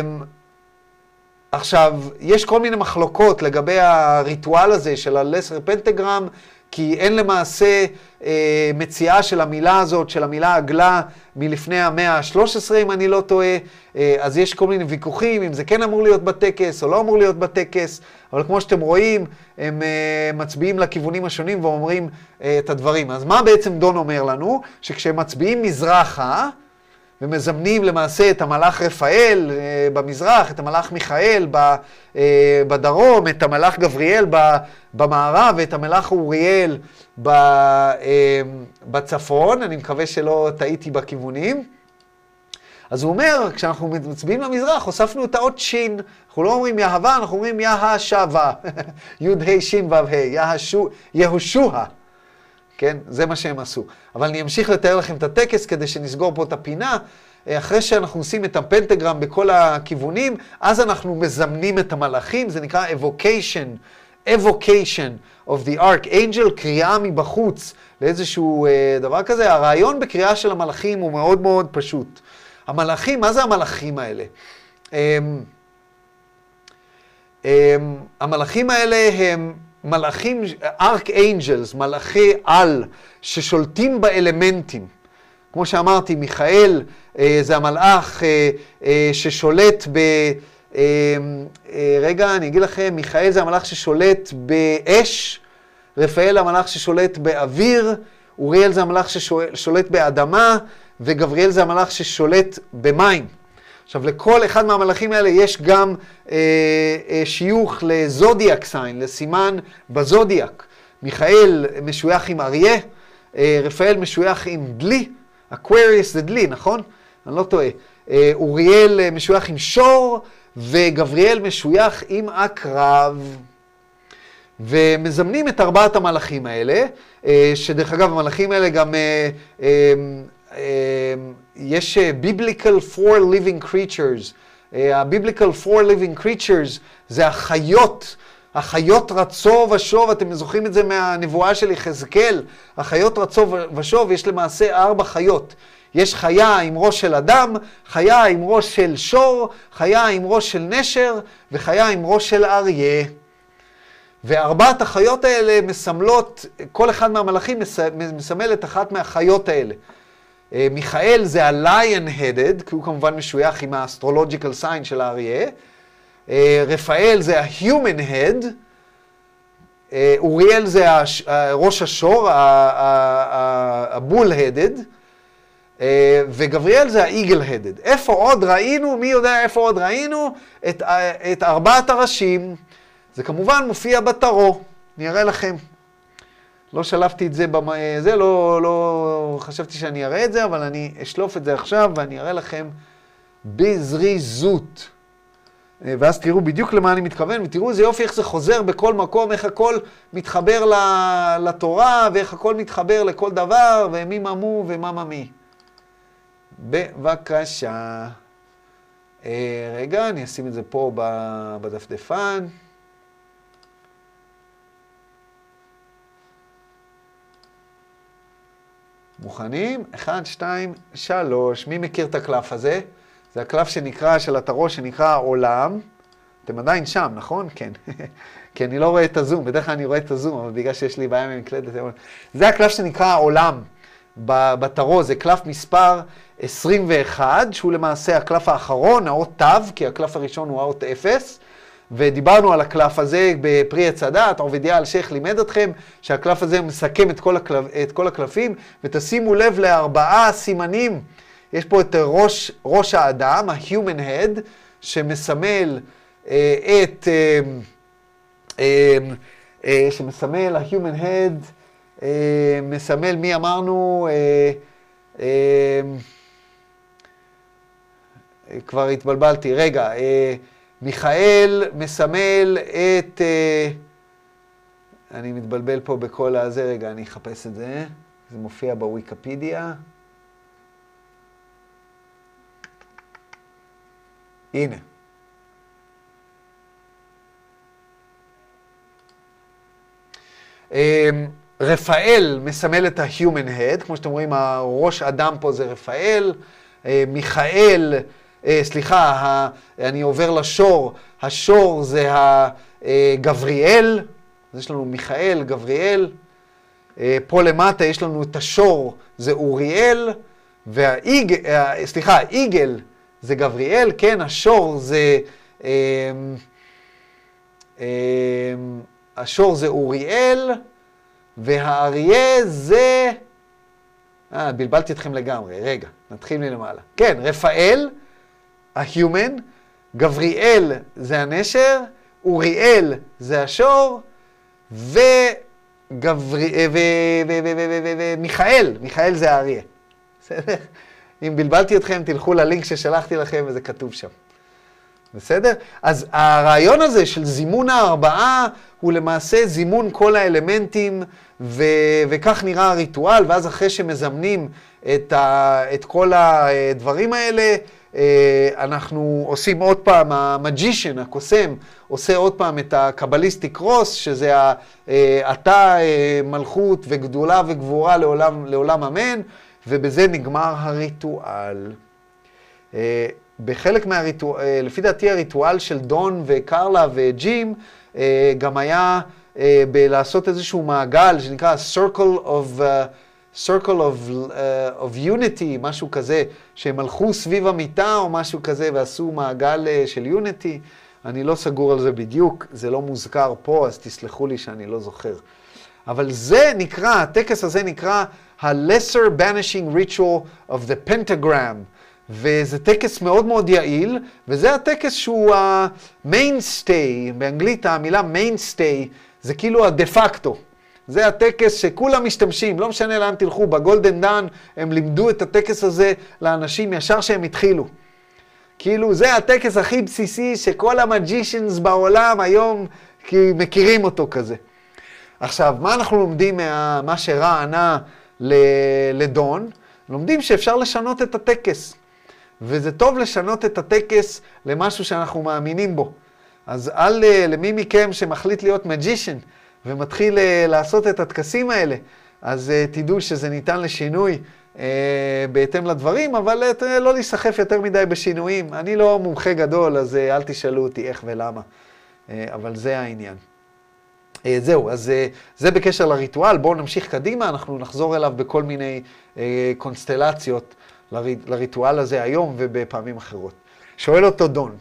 עכשיו, יש כל מיני מחלוקות לגבי הריטואל הזה של הלסר פנטגרם, כי אין למעשה uh, מציאה של המילה הזאת, של המילה עגלה, מלפני המאה ה-שלוש עשרה, אם אני לא טועה. Uh, אז יש כל מיני ויכוחים, אם זה כן אמור להיות בטקס או לא אמור להיות בטקס, אבל כמו שאתם רואים, הם uh, מצביעים לכיוונים השונים ואומרים uh, את הדברים. אז מה בעצם דון אומר לנו? שכשהם מצביעים מזרחה, ומזמנים למעשה את המלאך רפאל uh, במזרח, את המלאך מיכאל ב, uh, בדרום, את המלאך גבריאל ב, במערב, ואת המלאך אוריאל ב, uh, בצפון. אני מקווה שלא טעיתי בכיוונים. אז הוא אומר, כשאנחנו מצביעים למזרח, הוספנו את האות שין. אנחנו לא אומרים יהווה, אנחנו אומרים יהשווה. יוד ה' שין וו ה', יהושוע. כן, זה מה שהם עשו. אבל אני אמשיך לתאר לכם את הטקס כדי שנסגור פה את הפינה. אחרי שאנחנו עושים את הפנטגרם בכל הכיוונים, אז אנחנו מזמנים את המלאכים, זה נקרא evocation, evocation of the archangel, קריאה מבחוץ לאיזשהו uh, דבר כזה. הרעיון בקריאה של המלאכים הוא מאוד מאוד פשוט. המלאכים, מה זה המלאכים האלה? Um, um, המלאכים האלה הם מלאכים, archangels, מלאכי על, ששולטים באלמנטים. כמו שאמרתי, מיכאל אה, זה המלאך אה, אה, ששולט ב... אה, אה, רגע, אני אגיד לכם, מיכאל זה המלאך ששולט באש, רפאל המלאך ששולט באוויר, אוריאל זה המלאך ששולט באדמה, וגבריאל זה המלאך ששולט במים. עכשיו, לכל אחד מהמלאכים האלה יש גם אה, אה, שיוך לזודיאק סיין, לסימן בזודיאק. מיכאל משוייך עם אריה, רפאל משוייך עם דלי, אקוויריוס זה דלי, נכון? אני לא טועה. אוריאל משוייך עם שור, וגבריאל משוייך עם עקרב. ומזמנים את ארבעת המלאכים האלה, שדרך אגב המלאכים האלה גם, יש biblical four living creatures. ה-biblical four living creatures זה החיות, החיות רצו ושוב, אתם זוכרים את זה מהנבואה של יחזקאל, החיות רצו ושוב, יש למעשה ארבע חיות. יש חיה עם ראש של אדם, חיה עם ראש של שור, חיה עם ראש של נשר, וחיה עם ראש של אריה. וארבעת החיות האלה מסמלות, כל אחד מהמלאכים מסמל את אחת מהחיות האלה. מיכאל זה ה-lion-headed, כי הוא כמובן משוייך עם ה-astrological sign של האריה. רפאל זה ה-human head. אוריאל זה ראש השור, ה-bull-headed. וגבריאל זה ה-eagle-headed. איפה עוד ראינו? מי יודע איפה עוד ראינו? את, את ארבעת הראשים. זה כמובן מופיע בתרו. אני אראה לכם. לא שלפתי את זה, זה לא, לא חשבתי שאני אראה את זה, אבל אני אשלוף את זה עכשיו ואני אראה לכם בזריזות. ואז תראו בדיוק למה אני מתכוון, ותראו איזה יופי איך זה חוזר בכל מקום, איך הכל מתחבר לתורה, ואיך הכל מתחבר לכל דבר, ומי ממו ומה ממי. בבקשה. רגע, אני אשים את זה פה בדפדפן. מוכנים? אחד, שתיים, שלוש. מי מכיר את הקלף הזה? זה הקלף שנקרא, של התרו שנקרא עולם. אתם עדיין שם, נכון? כן. כי אני לא רואה את הזום. בדרך כלל אני רואה את הזום, אבל בגלל שיש לי בעיה ממקלדת. זה הקלף שנקרא עולם בתרו. זה קלף מספר עשרים ואחת, שהוא למעשה הקלף האחרון, האות תו, כי הקלף הראשון הוא האות אפס. ודיברנו על הקלף הזה בפרי עץ הדת, עובדיה אלשיך לימד אתכם שהקלף הזה מסכם את כל, הקלף, את כל הקלפים, ותשימו לב לארבעה סימנים. יש פה את ראש, ראש האדם, ה-human head, שמסמל אה, את, אה, אה, אה, שמסמל, ה-human head, אה, מסמל מי אמרנו, אה, אה, כבר התבלבלתי, רגע, אה, מיכאל מסמל את, אני מתבלבל פה בכל הזה, רגע, אני אחפש את זה, זה מופיע בוויקיפדיה. הנה. רפאל מסמל את ה-human head, כמו שאתם רואים, הראש אדם פה זה רפאל, מיכאל, סליחה, אני עובר לשור, השור זה הגבריאל, אז יש לנו מיכאל, גבריאל, פה למטה יש לנו את השור, זה אוריאל, והאיג, סליחה, האיגל זה גבריאל, כן, השור זה, השור זה אוריאל, והאריה זה, אה, בלבלתי אתכם לגמרי, רגע, נתחיל מלמעלה. כן, רפאל, ה-human, גבריאל זה הנשר, אוריאל זה השור, ומיכאל, מיכאל זה האריה. בסדר? אם בלבלתי אתכם, תלכו ללינק ששלחתי לכם וזה כתוב שם. בסדר? אז הרעיון הזה של זימון הארבעה הוא למעשה זימון כל האלמנטים, ו- וכך נראה הריטואל, ואז אחרי שמזמנים את, ה- את כל הדברים האלה, אנחנו עושים עוד פעם, המג'ישן, הקוסם, עושה עוד פעם את הקבליסטיק רוס, שזה אתה מלכות וגדולה וגבורה לעולם, לעולם אמן, ובזה נגמר הריטואל. בחלק מהריטואל, לפי דעתי הריטואל של דון וקרלה וג'ים, גם היה בלעשות איזשהו מעגל שנקרא Circle of, uh, Circle of, uh, of Unity, משהו כזה, שהם הלכו סביב המיטה או משהו כזה ועשו מעגל uh, של Unity. אני לא סגור על זה בדיוק, זה לא מוזכר פה, אז תסלחו לי שאני לא זוכר. אבל זה נקרא, הטקס הזה נקרא ה-Lesser Banishing Ritual of the Pentagram. וזה טקס מאוד מאוד יעיל, וזה הטקס שהוא ה-mainstay, באנגלית המילה mainstay, זה כאילו הדה-פקטו. זה הטקס שכולם משתמשים, לא משנה לאן תלכו, בגולדן דן הם לימדו את הטקס הזה לאנשים ישר שהם התחילו. כאילו זה הטקס הכי בסיסי שכל המג'ישנס בעולם היום מכירים אותו כזה. עכשיו, מה אנחנו לומדים מה שרע ענה לדון? לומדים שאפשר לשנות את הטקס. וזה טוב לשנות את הטקס למשהו שאנחנו מאמינים בו. אז אל למי מכם שמחליט להיות מג'ישן ומתחיל לעשות את הטקסים האלה, אז תדעו שזה ניתן לשינוי בהתאם לדברים, אבל לא להיסחף יותר מדי בשינויים. אני לא מומחה גדול, אז אל תשאלו אותי איך ולמה. אבל זה העניין. זהו, אז זה בקשר לריטואל. בואו נמשיך קדימה, אנחנו נחזור אליו בכל מיני קונסטלציות לריטואל הזה היום ובפעמים אחרות. שואל אותו דון.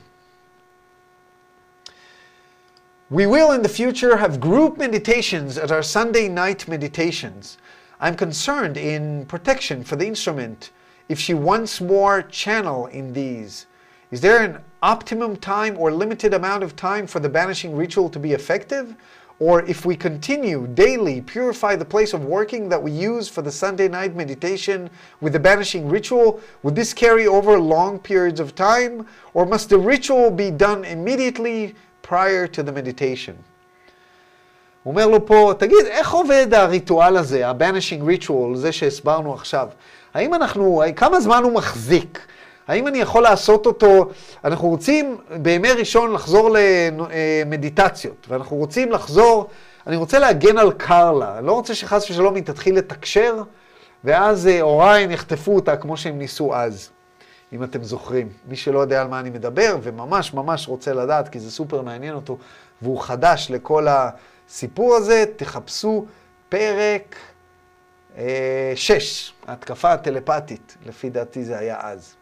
We will in the future have group meditations at our Sunday night meditations. I'm concerned in protection for the instrument if she once more channel in these. Is there an optimum time or limited amount of time for the banishing ritual to be effective? Or if we continue daily purify the place of working that we use for the Sunday night meditation with the banishing ritual, would this carry over long periods of time? Or must the ritual be done immediately prior to the meditation? הוא אומר לו פה, תגיד, איך עובד הריטואל הזה, ה-banishing ritual, זה שהסברנו עכשיו? האם אנחנו, כמה זמן הוא מחזיק? האם אני יכול לעשות אותו? אנחנו רוצים בימי ראשון לחזור למדיטציות, ואנחנו רוצים לחזור, אני רוצה להגן על קרלה, אני לא רוצה שחס ושלום היא תתחיל לתקשר, ואז אוריין יחטפו אותה כמו שהם ניסו אז, אם אתם זוכרים. מי שלא יודע על מה אני מדבר, וממש ממש רוצה לדעת, כי זה סופר מעניין אותו, והוא חדש לכל הסיפור הזה, תחפשו פרק אה, שש, התקפה הטלפתית, לפי דעתי זה היה אז.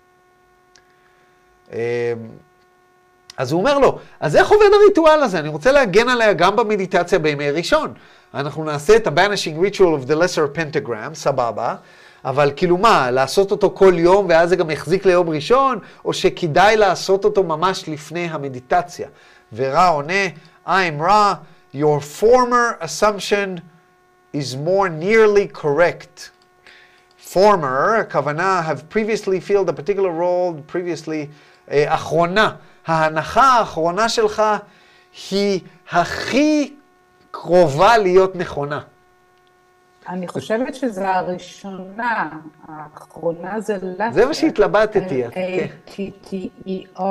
אז הוא אומר לו, אז איך עובד הריטואל הזה? אני רוצה להגן עליה גם במדיטציה בימי ראשון. אנחנו נעשה את ה-banishing ritual of the lesser pentagram, סבבה, אבל כאילו מה, לעשות אותו כל יום ואז זה גם יחזיק ליום ראשון, או שכדאי לעשות אותו ממש לפני המדיטציה? ורע עונה, I'm Ra, your former assumption is more nearly correct. Former, הכוונה, have previously filled a particular role, previously, uh, אחרונה. ההנחה האחרונה שלך היא הכי קרובה להיות נכונה.
אני חושבת שזה הראשונה, האחרונה זה latter.
זה מה שהתלבטתי.
L-A-T-T-E-R.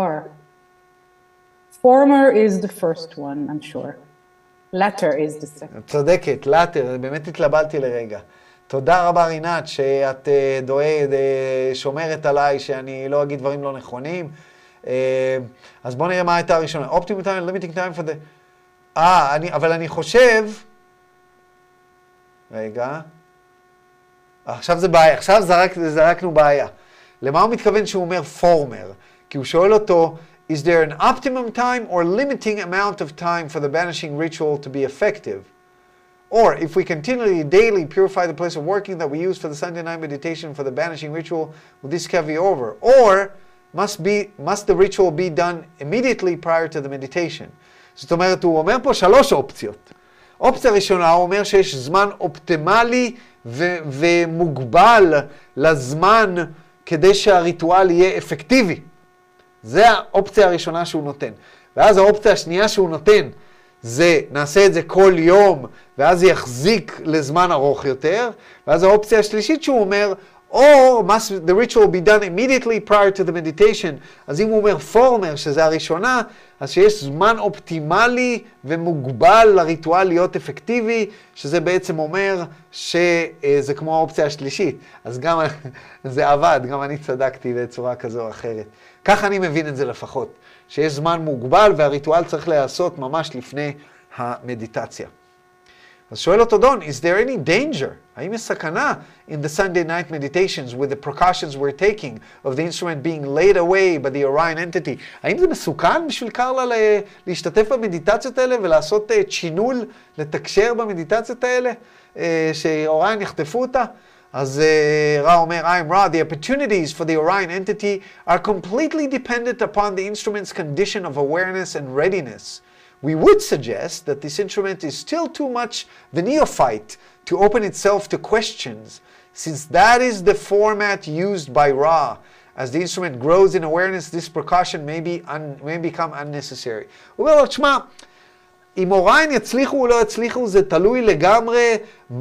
Former is the first one, I'm sure. Latter is the second.
צודקת, latter, באמת התלבטתי לרגע. תודה רבה רינת, שאת דואגת, שומרת עליי, שאני לא אגיד דברים לא נכונים. אז בואו נראה מה הייתה הראשונה. Optimum time, limiting time for the... אה, אני, אבל אני חושב... רגע. עכשיו זה בעיה, עכשיו זרק, זרקנו בעיה. למה הוא מתכוון שהוא אומר former? כי הוא שואל אותו, is there an optimum time or limiting amount of time for the banishing ritual to be effective? Or if we continually daily purify the place of working that we use for the Sunday night meditation for the banishing ritual, will this carry over? Or must be must the ritual be done immediately prior to the meditation? זאת אומרת, הוא אומר פה שלוש אופציות. אופציה ראשונה, הוא אומר שיש זמן אופטימלי ו- ומוגבל לזמן כדי שהריטואל יהיה אפקטיבי. זה האופציה הראשונה שהוא נותן. ואז האופציה השנייה שהוא נותן, זה נעשה את זה כל יום, ואז זה יחזיק לזמן ארוך יותר. ואז האופציה השלישית שהוא אומר, or must the ritual be done immediately prior to the meditation. אז אם הוא אומר former, שזה הראשונה, אז שיש זמן אופטימלי ומוגבל לריטואל להיות אפקטיבי, שזה בעצם אומר שזה כמו האופציה השלישית. אז גם זה עבד, גם אני צדקתי בצורה כזו או אחרת. כך אני מבין את זה לפחות, שיש זמן מוגבל והריטואל צריך להיעשות ממש לפני המדיטציה. אז שואל אותו דון, is there any danger? האם יש סכנה in the Sunday night meditations with the precautions we're taking of the instrument being laid away by the Orion entity? האם זה מסוכן בשביל קרלה להשתתף במדיטציות האלה ולעשות צ'ינול, לתקשר במדיטציות האלה, שאוריון יחטפו אותה? אז רע אומר, I'm Ra, the opportunities for the Orion entity are completely dependent upon the instrument's condition of awareness and readiness. we would suggest that this instrument is still too much the neophyte to open itself to questions, since that is the format used by Ra. As the instrument grows in awareness, this precaution may, be un, may become unnecessary. הוא אומר לו, תשמע, אם אוריין יצליחו או לא יצליחו, זה תלוי לגמרי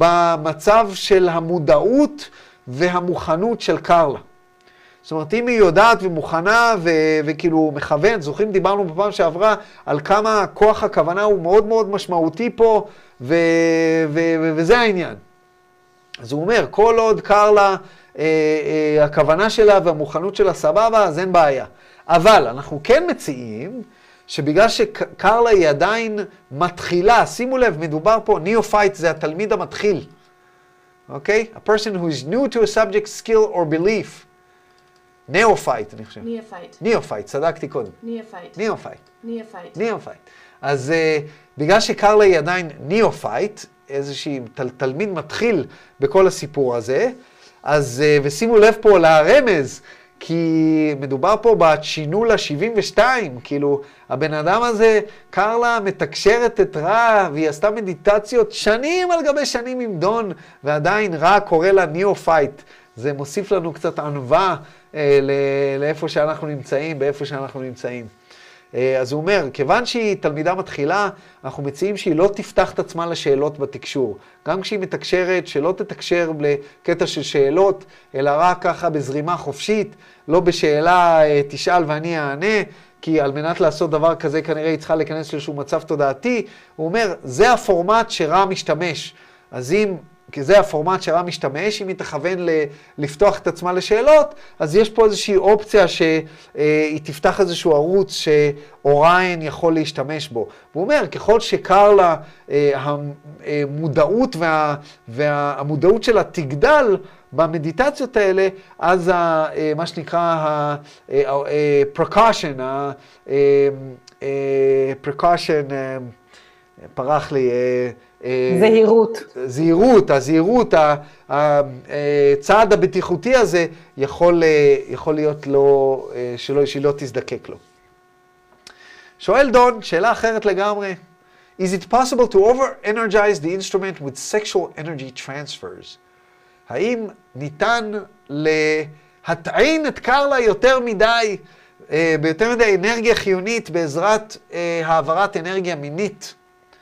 במצב של המודעות והמוכנות של קרלה. זאת אומרת, אם היא יודעת ומוכנה ו- וכאילו מכוון, זוכרים, דיברנו בפעם שעברה על כמה כוח הכוונה הוא מאוד מאוד משמעותי פה, ו- ו- ו- וזה העניין. אז הוא אומר, כל עוד קרלה, אה, אה, הכוונה שלה והמוכנות שלה סבבה, אז אין בעיה. אבל אנחנו כן מציעים, שבגלל שקרלה היא עדיין מתחילה, שימו לב, מדובר פה, ניאופייט זה התלמיד המתחיל. אוקיי? A person who is new to a subject, skill or belief. ניאופייט, אני חושב.
ניאופייט.
ניאופייט, צדקתי קודם.
ניאופייט.
ניאופייט.
ניאופייט.
ניאופייט. אז uh, בגלל שקרלה היא עדיין ניאופייט, איזושהי תל, תלמיד מתחיל בכל הסיפור הזה, אז, uh, ושימו לב פה לרמז, כי מדובר פה בצ'ינול ה-שבעים ושתיים, כאילו, הבן אדם הזה, קרלה מתקשרת את רע, והיא עשתה מדיטציות שנים על גבי שנים עם דון, ועדיין רע קורא לה ניאופייט. זה מוסיף לנו קצת ענווה אה, לאיפה שאנחנו נמצאים, באיפה שאנחנו נמצאים. אה, אז הוא אומר, כיוון שהיא תלמידה מתחילה, אנחנו מציעים שהיא לא תפתח את עצמה לשאלות בתקשור. גם כשהיא מתקשרת, שלא תתקשר לקטע של שאלות, אלא רק ככה בזרימה חופשית, לא בשאלה אה, תשאל ואני אענה, כי על מנת לעשות דבר כזה כנראה היא צריכה להיכנס לאיזשהו מצב תודעתי. הוא אומר, זה הפורמט שרע משתמש. אז אם... כי זה הפורמט שרע משתמש, אם היא תכוון לפתוח את עצמה לשאלות, אז יש פה איזושהי אופציה שהיא תפתח איזשהו ערוץ שאוריין יכול להשתמש בו. הוא אומר, ככל שקרלה, המודעות וה, והמודעות שלה תגדל במדיטציות האלה, אז מה שנקרא ה-precaution, ה-precaution, פרח לי,
זהירות.
זהירות, הזהירות, הצעד הבטיחותי הזה יכול, יכול להיות לו, שלא, שלא תזדקק לו. שואל דון, שאלה אחרת לגמרי. Is it possible to over-energize the instrument with sexual energy transfers? האם ניתן להטעין את קרלה יותר מדי, ביותר מדי אנרגיה חיונית בעזרת העברת אנרגיה מינית?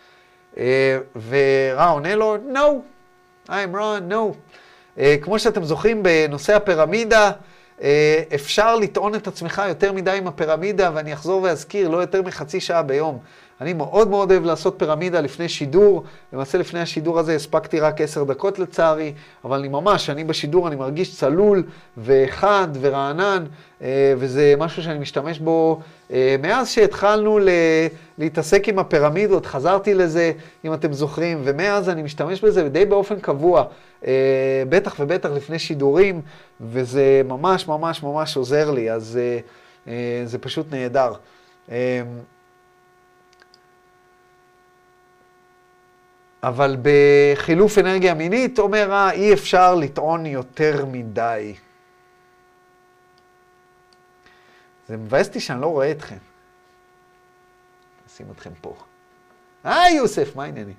ורע עונה לו, no, I'm wrong, no. כמו שאתם זוכרים בנושא הפירמידה, אפשר לטעון את עצמך יותר מדי עם הפירמידה, ואני אחזור ואזכיר, לא יותר מחצי שעה ביום. אני מאוד מאוד אוהב לעשות פירמידה לפני שידור, למעשה לפני השידור הזה הספקתי רק עשר דקות לצערי, אבל אני ממש, אני בשידור אני מרגיש צלול וחד ורענן, וזה משהו שאני משתמש בו מאז שהתחלנו להתעסק עם הפירמידות, חזרתי לזה אם אתם זוכרים, ומאז אני משתמש בזה די באופן קבוע, בטח ובטח לפני שידורים, וזה ממש ממש ממש עוזר לי, אז זה פשוט נהדר. אבל בחילוף אנרגיה מינית, אומר, אה, אי אפשר לטעון יותר מדי. זה מבאס אותי שאני לא רואה אתכם. נשים אתכם פה. היי, יוסף, מה העניינים?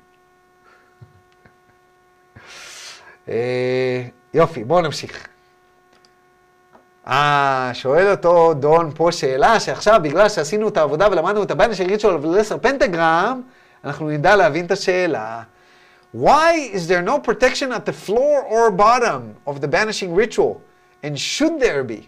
אה, יופי, בואו נמשיך. אה, שואל אותו דון פה שאלה, שעכשיו בגלל שעשינו את העבודה ולמדנו את הבנשינג ריטואל ולסר פנטגרם, אנחנו נדע להבין את השאלה. Why is there no protection at the floor or bottom of the banishing ritual? And should there be?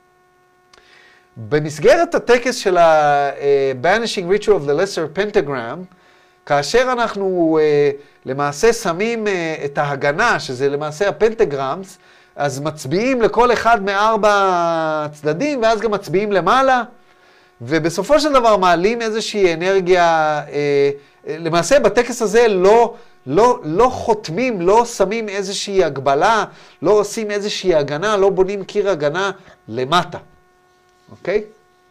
במסגרת הטקס של ה-banishing ritual of the lesser pentagram, כאשר אנחנו uh, למעשה שמים uh, את ההגנה, שזה למעשה הפנטגרמס, אז מצביעים לכל אחד מארבע הצדדים, ואז גם מצביעים למעלה, ובסופו של דבר מעלים איזושהי אנרגיה, אה, למעשה בטקס הזה לא, לא, לא חותמים, לא שמים איזושהי הגבלה, לא עושים איזושהי הגנה, לא בונים קיר הגנה למטה, אוקיי?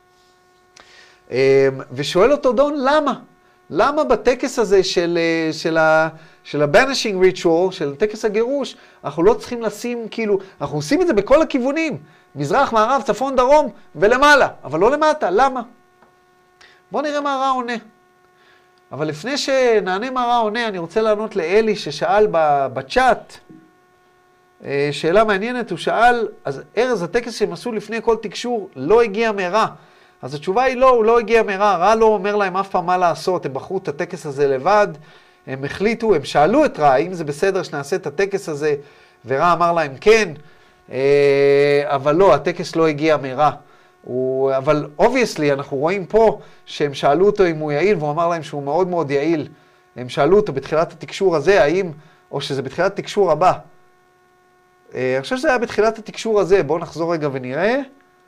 אה, ושואל אותו דון, למה? למה בטקס הזה של, של, ה, של ה-banishing ritual, של טקס הגירוש, אנחנו לא צריכים לשים, כאילו, אנחנו עושים את זה בכל הכיוונים, מזרח, מערב, צפון, דרום ולמעלה, אבל לא למטה, למה? בואו נראה מה הרע עונה. אבל לפני שנענה מה רע עונה, אני רוצה לענות לאלי ששאל בצ'אט, שאלה מעניינת, הוא שאל, אז ארז, הטקס שהם עשו לפני כל תקשור לא הגיע מרע. אז התשובה היא לא, הוא לא הגיע מרע, רע לא אומר להם אף פעם מה לעשות, הם בחרו את הטקס הזה לבד, הם החליטו, הם שאלו את רע, האם זה בסדר שנעשה את הטקס הזה, ורע אמר להם כן, אבל לא, הטקס לא הגיע מרע. הוא, אבל obviously אנחנו רואים פה שהם שאלו אותו אם הוא יעיל, והוא אמר להם שהוא מאוד מאוד יעיל. הם שאלו אותו בתחילת התקשור הזה, האם, או שזה בתחילת התקשור הבא. אני חושב שזה היה בתחילת התקשור הזה, בואו נחזור רגע ונראה.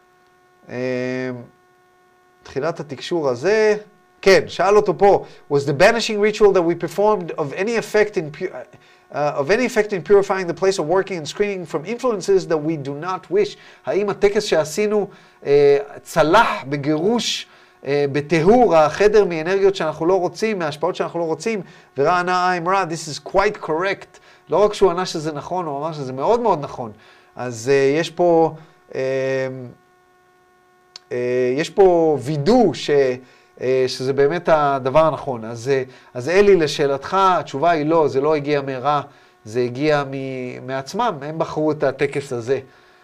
תחילת התקשור הזה, כן, שאל אותו פה, was the banishing ritual that we performed of any effect in pu- uh, of any effect in purifying the place of working and screening from influences that we do not wish? האם הטקס שעשינו uh, צלח בגירוש, uh, בטהור החדר מאנרגיות שאנחנו לא רוצים, מהשפעות שאנחנו לא רוצים? ורע ענה, I'm רע, this is quite correct. לא רק שהוא ענה שזה נכון, הוא אמר שזה מאוד מאוד נכון. אז uh, יש פה, uh, uh, יש פה וידוא ש... שזה באמת הדבר הנכון. אז, אז אלי, לשאלתך, התשובה היא לא, זה לא הגיע מרע, זה הגיע מ, מעצמם, הם בחרו את הטקס הזה.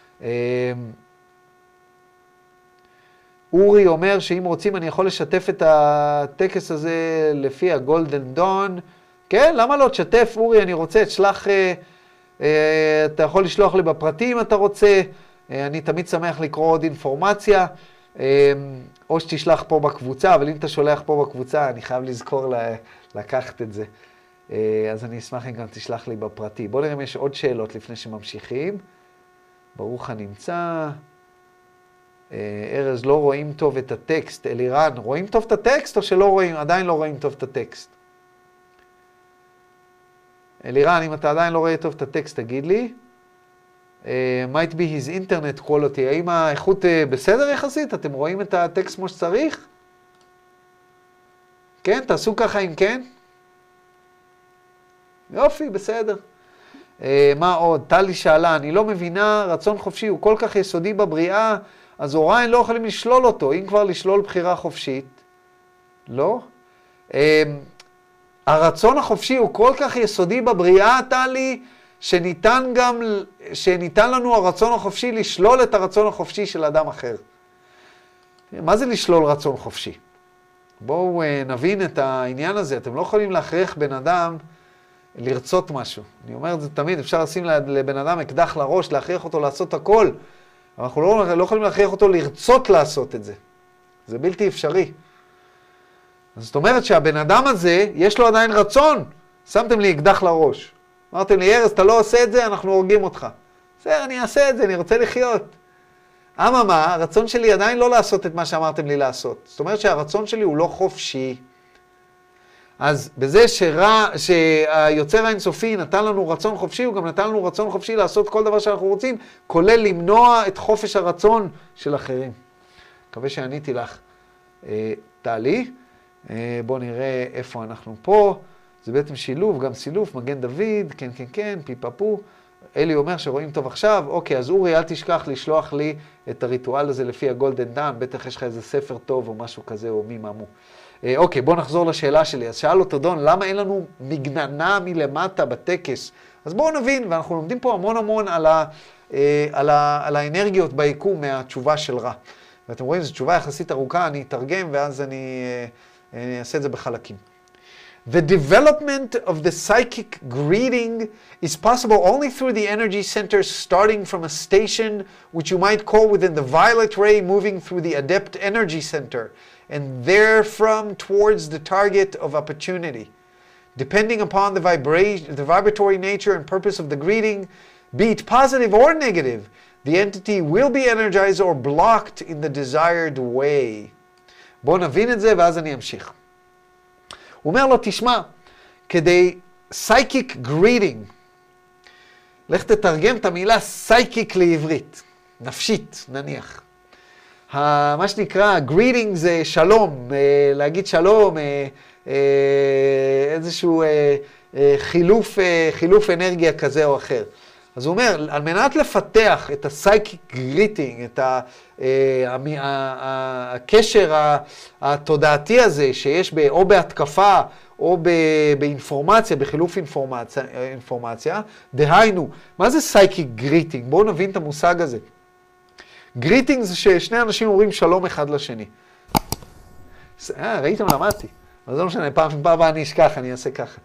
אורי אומר שאם רוצים אני יכול לשתף את הטקס הזה לפי הגולדן דון. כן, למה לא תשתף, אורי, אני רוצה, תשלח, אתה יכול לשלוח לי בפרטים אם אתה רוצה, אני תמיד שמח לקרוא עוד אינפורמציה. או שתשלח פה בקבוצה, אבל אם אתה שולח פה בקבוצה, אני חייב לזכור לקחת את זה. אז אני אשמח אם גם תשלח לי בפרטי. בואו נראה אם יש עוד שאלות לפני שממשיכים. ברוך הנמצא. ארז, לא רואים טוב את הטקסט. אלירן, רואים טוב את הטקסט או שלא רואים? עדיין לא רואים טוב את הטקסט. אלירן, אם אתה עדיין לא רואה טוב את הטקסט, תגיד לי. Uh, might be his internet quality. האם האיכות uh, בסדר יחסית? אתם רואים את הטקסט כמו שצריך? כן, תעשו ככה אם כן. יופי, בסדר. Uh, מה עוד? טלי שאלה, אני לא מבינה, רצון חופשי הוא כל כך יסודי בבריאה, אז הוריי לא יכולים לשלול אותו, אם כבר לשלול בחירה חופשית. לא? Uh, הרצון החופשי הוא כל כך יסודי בבריאה, טלי, שניתן גם, שניתן לנו הרצון החופשי לשלול את הרצון החופשי של אדם אחר. מה זה לשלול רצון חופשי? בואו נבין את העניין הזה. אתם לא יכולים להכריח בן אדם לרצות משהו. אני אומר את זה תמיד, אפשר לשים לבן אדם אקדח לראש, להכריח אותו לעשות הכל. אבל אנחנו לא, לא יכולים להכריח אותו לרצות לעשות את זה. זה בלתי אפשרי. זאת אומרת שהבן אדם הזה, יש לו עדיין רצון. שמתם לי אקדח לראש. אמרתם לי, ארז, אתה לא עושה את זה, אנחנו הורגים אותך. בסדר, אני אעשה את זה, אני רוצה לחיות. אממה, הרצון שלי עדיין לא לעשות את מה שאמרתם לי לעשות. זאת אומרת שהרצון שלי הוא לא חופשי. אז בזה שרע, שהיוצר האינסופי נתן לנו רצון חופשי, הוא גם נתן לנו רצון חופשי לעשות כל דבר שאנחנו רוצים, כולל למנוע את חופש הרצון של אחרים. מקווה שעניתי לך. תעלי, בואו נראה איפה אנחנו פה. זה בעצם שילוב, גם סילוף, מגן דוד, כן, כן, כן, פיפפו. אלי אומר שרואים טוב עכשיו, אוקיי, אז אורי, אל תשכח לשלוח לי את הריטואל הזה לפי הגולדן דן, בטח יש לך איזה ספר טוב או משהו כזה, או מי מאמו. אה, אוקיי, בוא נחזור לשאלה שלי. אז שאל אותו דון, למה אין לנו מגננה מלמטה בטקס? אז בואו נבין, ואנחנו לומדים פה המון המון על, ה, אה, על, ה, על האנרגיות ביקום מהתשובה של רע. ואתם רואים, זו תשובה יחסית ארוכה, אני אתרגם, ואז אני, אה, אני אעשה את זה בחלקים. The development of the psychic greeting is possible only through the energy centers starting from a station which you might call within the violet ray moving through the adept energy center and therefrom towards the target of opportunity. Depending upon the vibration, the vibratory nature and purpose of the greeting, be it positive or negative, the entity will be energized or blocked in the desired way. בואו נבין את זה ואז אני אמשיך. הוא אומר לו, תשמע, כדי psychic greeting, לך תתרגם את המילה psychic לעברית, נפשית נניח. מה שנקרא greeting זה שלום, להגיד שלום, איזשהו חילוף, חילוף אנרגיה כזה או אחר. אז הוא אומר, על מנת לפתח את הסייקיק גריטינג, את ה, אה, הקשר התודעתי הזה שיש ב, או בהתקפה או ב, באינפורמציה, בחילוף אינפורמציה, אינפורמציה, דהיינו, מה זה סייקיק גריטינג? בואו נבין את המושג הזה. גריטינג זה ששני אנשים אומרים שלום אחד לשני. אה, ראיתם, למדתי. אז לא משנה, פעם הבאה אני אשכח, אני אעשה ככה.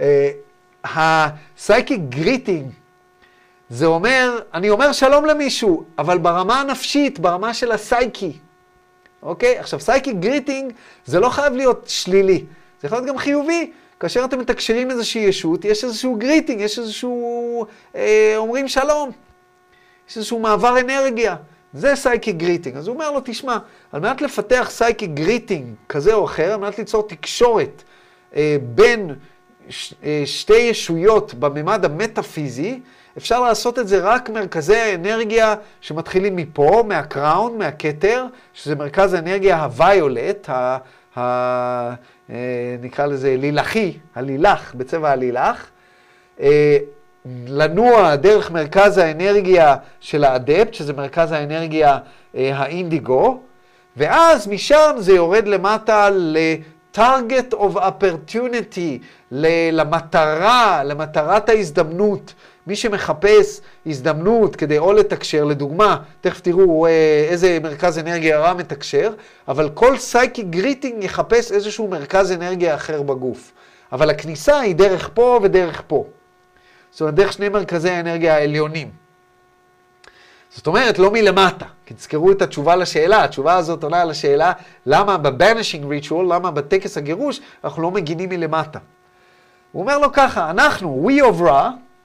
הסייקיק גריטינג, זה אומר, אני אומר שלום למישהו, אבל ברמה הנפשית, ברמה של הסייקי. אוקיי? עכשיו, סייקיק גריטינג זה לא חייב להיות שלילי. זה יכול להיות גם חיובי. כאשר אתם מתקשרים איזושהי ישות, יש איזשהו גריטינג, יש איזשהו, אה, אומרים שלום. יש איזשהו מעבר אנרגיה. זה סייקיק גריטינג. אז הוא אומר לו, תשמע, על מנת לפתח סייקיק גריטינג כזה או אחר, על מנת ליצור תקשורת אה, בין ש, אה, שתי ישויות בממד המטאפיזי, אפשר לעשות את זה רק מרכזי האנרגיה שמתחילים מפה, מהקראון, מהכתר, שזה מרכז האנרגיה הוויולט, ה, ה, אה, נקרא לזה לילחי, הלילח, בצבע הלילח, אה, לנוע דרך מרכז האנרגיה של האדפט, שזה מרכז האנרגיה אה, האינדיגו, ואז משם זה יורד למטה ל-target of opportunity, למטרה, למטרת ההזדמנות. מי שמחפש הזדמנות כדי או לתקשר, לדוגמה, תכף תראו איזה מרכז אנרגיה רע מתקשר, אבל כל סייקיק גריטינג יחפש איזשהו מרכז אנרגיה אחר בגוף. אבל הכניסה היא דרך פה ודרך פה. זאת אומרת, דרך שני מרכזי האנרגיה העליונים. זאת אומרת, לא מלמטה. כי תזכרו את התשובה לשאלה. התשובה הזאת עונה על השאלה, למה ב-banishing ritual, למה בטקס הגירוש, אנחנו לא מגינים מלמטה. הוא אומר לו ככה, אנחנו, we of Ra,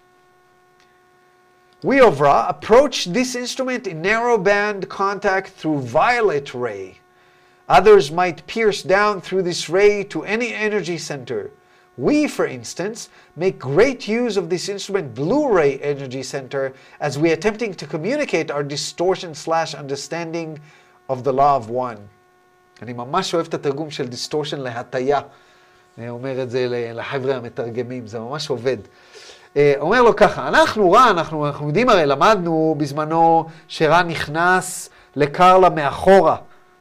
we of Ra approach this instrument in narrow band contact through violet ray. Others might pierce down through this ray to any energy center. We, for instance, make great use of this instrument blue ray energy center as we attempting to communicate our distortion slash understanding of the law of one. אני ממש אוהב את התרגום של distortion להטיה. אני אומר את זה לחבר'ה המתרגמים, זה ממש עובד. אומר לו ככה, אנחנו רע, אנחנו, אנחנו יודעים הרי, למדנו בזמנו שרע נכנס לקרלה מאחורה,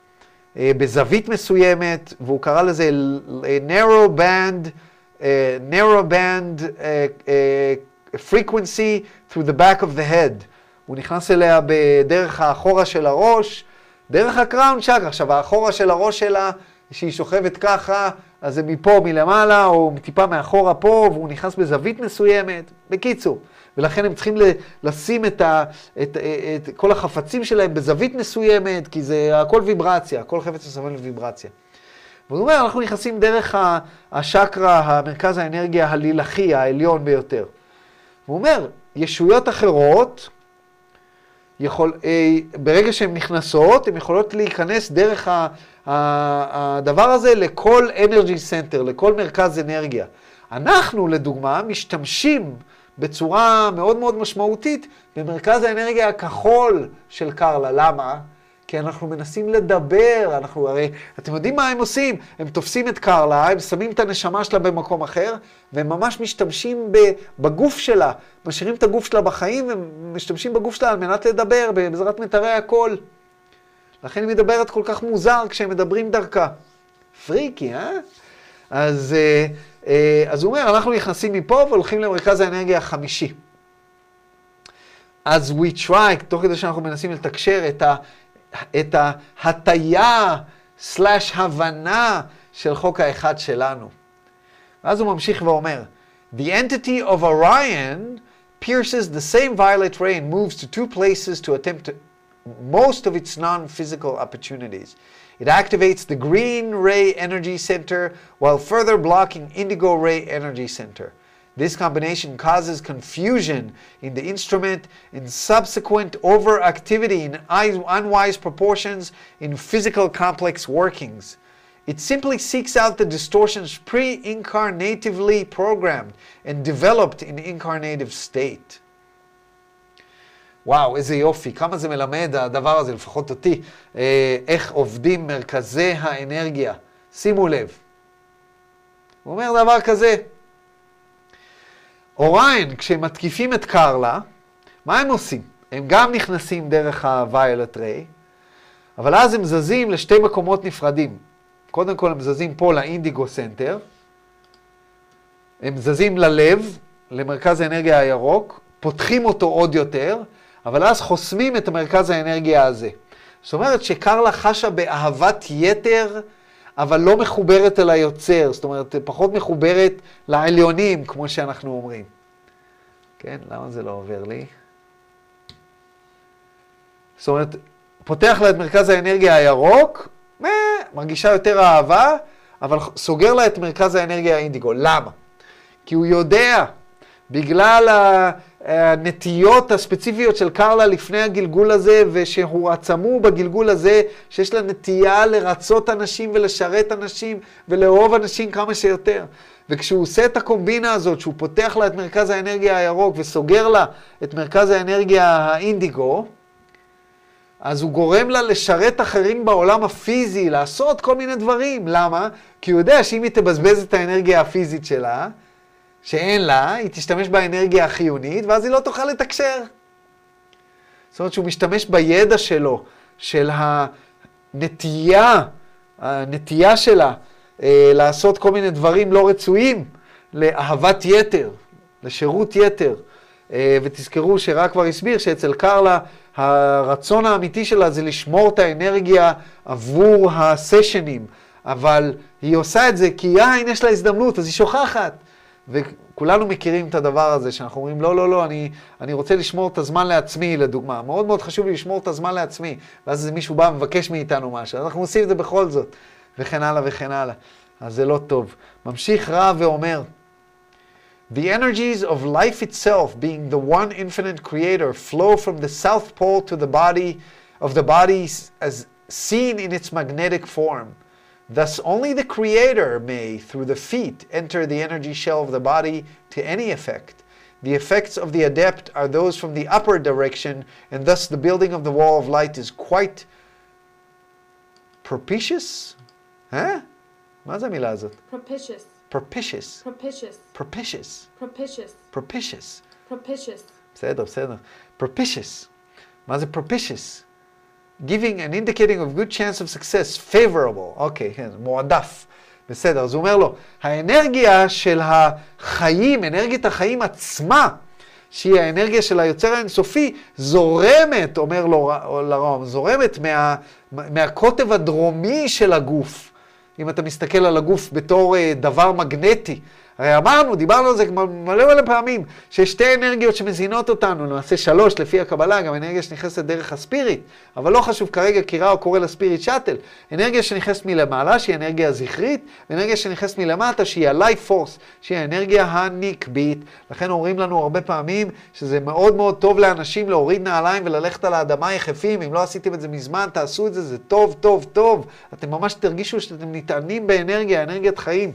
בזווית מסוימת, והוא קרא לזה narrow band, uh, narrow band uh, uh, frequency through the back of the head. הוא נכנס אליה בדרך האחורה של הראש, דרך הקראון צ'קרה. עכשיו, האחורה של הראש שלה, שהיא שוכבת ככה, אז זה מפה מלמעלה, או טיפה מאחורה פה, והוא נכנס בזווית מסוימת. בקיצור, ולכן הם צריכים לשים את, ה, את, את, את כל החפצים שלהם בזווית מסוימת, כי זה הכל ויברציה, הכל חפץ מסוים לוויברציה. והוא אומר, אנחנו נכנסים דרך השקרה, המרכז האנרגיה הלילחי, העליון ביותר. והוא אומר, ישויות אחרות, יכול, ברגע שהן נכנסות, הן יכולות להיכנס דרך ה, הדבר הזה לכל אנרגי סנטר, לכל מרכז אנרגיה. אנחנו, לדוגמה, משתמשים בצורה מאוד מאוד משמעותית במרכז האנרגיה הכחול של קרלה. למה? כי אנחנו מנסים לדבר, אנחנו הרי, אתם יודעים מה הם עושים? הם תופסים את קרלה, הם שמים את הנשמה שלה במקום אחר, והם ממש משתמשים בגוף שלה, משאירים את הגוף שלה בחיים, ומשתמשים בגוף שלה על מנת לדבר בעזרת מיתרי הקול. לכן היא מדברת כל כך מוזר כשהם מדברים דרכה. פריקי, אה? אז, אז הוא אומר, אנחנו נכנסים מפה והולכים למרכז האנרגיה החמישי. אז we try, תוך כדי שאנחנו מנסים לתקשר את ה... את ההטיה סלש הבנה של חוק האחד שלנו. ואז הוא ממשיך ואומר, The entity of Orion pierces the same violet ray and moves to two places to attempt to most of its non-physical opportunities. It activates the green ray energy center while further blocking indigo ray energy center. This combination causes confusion in the instrument and subsequent overactivity in unwise proportions in physical complex workings. It simply seeks out the distortions pre-incarnatively programmed and developed in incarnative state. וואו, איזה יופי, כמה זה מלמד הדבר הזה, לפחות אותי, איך עובדים מרכזי האנרגיה. שימו לב. הוא אומר דבר כזה, אוריין, כשהם מתקיפים את קרלה, מה הם עושים? הם גם נכנסים דרך ה-violet ray, אבל אז הם זזים לשתי מקומות נפרדים. קודם כל הם זזים פה לאינדיגו סנטר, הם זזים ללב, למרכז האנרגיה הירוק, פותחים אותו עוד יותר, אבל אז חוסמים את מרכז האנרגיה הזה. זאת אומרת שקרלה חשה באהבת יתר, אבל לא מחוברת אל היוצר, זאת אומרת פחות מחוברת לעליונים, כמו שאנחנו אומרים. כן, למה זה לא עובר לי? זאת אומרת, פותח לה את מרכז האנרגיה הירוק, מרגישה יותר אהבה, אבל סוגר לה את מרכז האנרגיה האינדיגו. למה? כי הוא יודע, בגלל הנטיות הספציפיות של קרלה לפני הגלגול הזה, ושהוא עצמו בגלגול הזה, שיש לה נטייה לרצות אנשים ולשרת אנשים ולאהוב אנשים כמה שיותר. וכשהוא עושה את הקומבינה הזאת, שהוא פותח לה את מרכז האנרגיה הירוק וסוגר לה את מרכז האנרגיה האינדיגו, אז הוא גורם לה לשרת אחרים בעולם הפיזי, לעשות כל מיני דברים. למה? כי הוא יודע שאם היא תבזבז את האנרגיה הפיזית שלה, שאין לה, היא תשתמש באנרגיה החיונית, ואז היא לא תוכל לתקשר. זאת אומרת שהוא משתמש בידע שלו, של הנטייה, הנטייה שלה, אה, לעשות כל מיני דברים לא רצויים, לאהבת יתר, לשירות יתר. אה, ותזכרו שרק כבר הסביר שאצל קרלה, הרצון האמיתי שלה זה לשמור את האנרגיה עבור הסשנים, אבל היא עושה את זה כי יין יש לה הזדמנות, אז היא שוכחת. וכולנו מכירים את הדבר הזה, שאנחנו אומרים, לא, לא, לא, אני, אני רוצה לשמור את הזמן לעצמי, לדוגמה. מאוד מאוד חשוב לי לשמור את הזמן לעצמי. ואז מישהו בא ומבקש מאיתנו משהו. אנחנו עושים את זה בכל זאת, וכן הלאה וכן הלאה. אז זה לא טוב. ממשיך רע ואומר, The energies of life itself, being the one infinite creator, flow from the south pole to the body of the body as seen in its magnetic form. Thus, only the creator may, through the feet, enter the energy shell of the body to any effect. The effects of the adept are those from the upper direction, and thus the building of the wall of light is quite propitious? Huh? מה זה המילה הזאת?
Propitious.
Propitious.
Propitious.
Propitious.
Propitious.
Propitious.
Propitious.
בסדר, בסדר. Propitious. מה זה propitious? Giving and indicating of good chance of success, favorable. אוקיי, כן, מועדף. בסדר, אז הוא אומר לו, האנרגיה של החיים, אנרגיית החיים עצמה, שהיא האנרגיה של היוצר האינסופי, זורמת, אומר לו לרום, זורמת מה, מהקוטב הדרומי של הגוף. אם אתה מסתכל על הגוף בתור דבר מגנטי. הרי אמרנו, דיברנו על זה מלא מלא פעמים, שיש שתי אנרגיות שמזינות אותנו, למעשה שלוש לפי הקבלה, גם אנרגיה שנכנסת דרך הספיריט, אבל לא חשוב כרגע כי רע או קורא לספיריט שטל. אנרגיה שנכנסת מלמעלה, שהיא אנרגיה הזכרית, ואנרגיה שנכנסת מלמטה, שהיא ה-life force, שהיא האנרגיה הנקבית. לכן אומרים לנו הרבה פעמים שזה מאוד מאוד טוב לאנשים להוריד נעליים וללכת על האדמה יחפים. אם לא עשיתם את זה מזמן, תעשו את זה, זה טוב, טוב, טוב. אתם ממש תרגישו שאתם נטענים באנרגיה, אנרגיית חיים.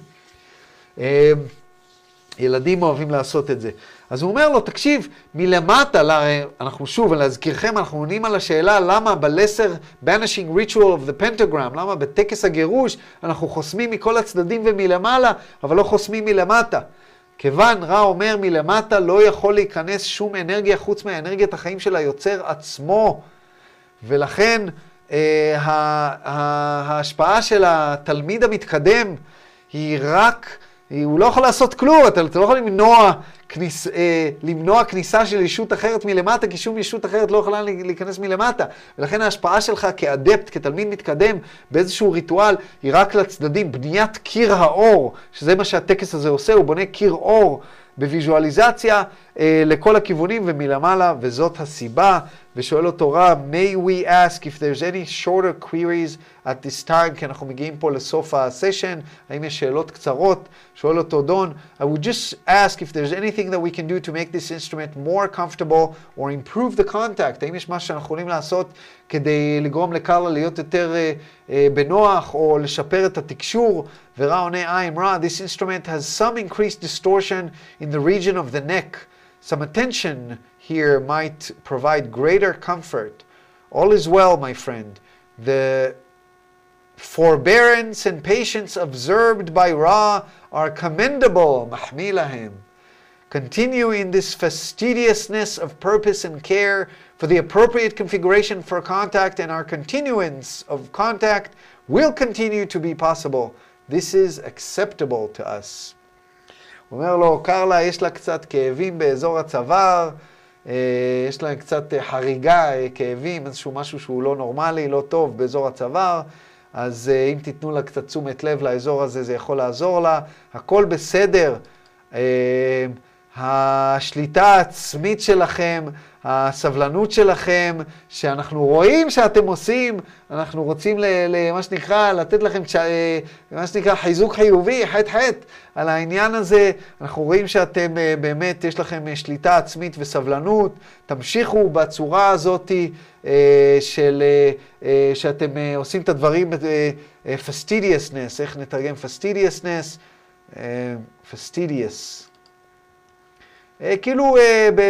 ילדים אוהבים לעשות את זה. אז הוא אומר לו, תקשיב, מלמטה, אנחנו שוב, להזכירכם, אנחנו עונים על השאלה למה בלסר banishing ritual of the pentagram, למה בטקס הגירוש אנחנו חוסמים מכל הצדדים ומלמעלה, אבל לא חוסמים מלמטה. כיוון רע אומר, מלמטה לא יכול להיכנס שום אנרגיה חוץ מהאנרגיית החיים של היוצר עצמו. ולכן אה, ההשפעה של התלמיד המתקדם היא רק... הוא לא יכול לעשות כלום, אתה לא יכול למנוע, כניס, אה, למנוע כניסה של ישות אחרת מלמטה, כי שום ישות אחרת לא יכולה להיכנס מלמטה. ולכן ההשפעה שלך כאדפט, כתלמיד מתקדם, באיזשהו ריטואל, היא רק לצדדים, בניית קיר האור, שזה מה שהטקס הזה עושה, הוא בונה קיר אור בוויזואליזציה אה, לכל הכיוונים ומלמעלה, וזאת הסיבה. ושואל אותו רע, may we ask if there's any shorter queries at this time, כי אנחנו מגיעים פה לסוף הסשן, האם יש שאלות קצרות? שואל אותו דון, I would just ask if there's anything that we can do to make this instrument more comfortable or improve the contact, האם יש משהו שאנחנו יכולים לעשות כדי לגרום לקרלה להיות יותר uh, uh, בנוח או לשפר את התקשור? ורע עונה, I'm רע, this instrument has some increased distortion in the region of the neck, some attention here might provide greater comfort. All is well, my friend. The forbearance and patience observed by Ra are commendable. מחמיא להם. continue in this fastidiousness of purpose and care for the appropriate configuration for contact, and our continuance of contact will continue to be possible. This is acceptable to us. הוא אומר לו, קרלה, יש לה קצת כאבים באזור הצוואר, יש לה קצת חריגה, כאבים, איזשהו משהו שהוא לא נורמלי, לא טוב באזור הצוואר, אז אם תיתנו לה קצת תשומת לב לאזור הזה, זה יכול לעזור לה. הכל בסדר. השליטה העצמית שלכם, הסבלנות שלכם, שאנחנו רואים שאתם עושים, אנחנו רוצים למה שנקרא, לתת לכם מה שנקרא חיזוק חיובי, חט חט, על העניין הזה. אנחנו רואים שאתם באמת, יש לכם שליטה עצמית וסבלנות, תמשיכו בצורה הזאת של, שאתם עושים את הדברים, fastidiousness, איך נתרגם fastidiousness? fastidious. כאילו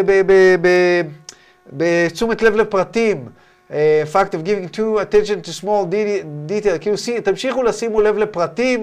בתשומת לב לפרטים, fact of giving too attention to small detail, כאילו תמשיכו לשימו לב לפרטים,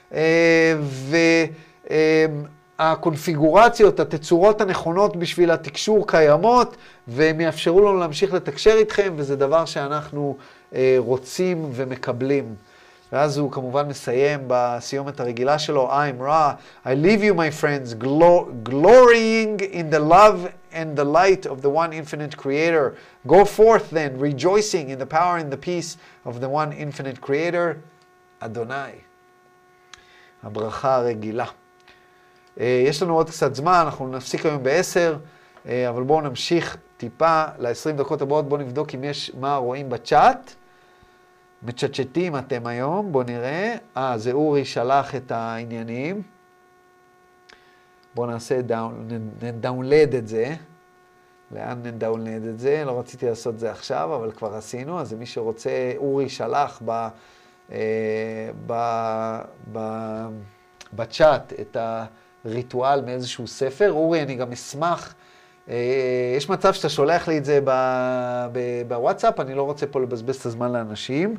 והקונפיגורציות, התצורות הנכונות בשביל התקשור קיימות, והם יאפשרו לנו להמשיך לתקשר איתכם, וזה דבר שאנחנו רוצים ומקבלים. ואז הוא כמובן מסיים בסיומת הרגילה שלו, I'm Ra, I leave you my friends, glorying in the love and the light of the one infinite creator. Go forth then, rejoicing in the power and the peace of the one infinite creator, Adonai. הברכה הרגילה. יש לנו עוד קצת זמן, אנחנו נפסיק היום בעשר, אבל בואו נמשיך טיפה ל-עשרים דקות הבאות, בואו נבדוק אם יש מה רואים בצ'אט. מצ'צ'טים אתם היום, בואו נראה. אה, זה אורי שלח את העניינים. בואו נעשה, נדאונלד את זה. לאן נדאונלד את זה? לא רציתי לעשות את זה עכשיו, אבל כבר עשינו. אז מי שרוצה, אורי שלח ב, אה, ב, ב, בצ'אט את הריטואל מאיזשהו ספר. אורי, אני גם אשמח. יש מצב שאתה שולח לי את זה בוואטסאפ, אני לא רוצה פה לבזבז את הזמן לאנשים.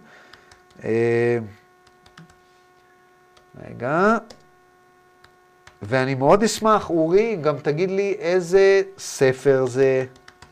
רגע. ואני מאוד אשמח, אורי, גם תגיד לי איזה ספר זה.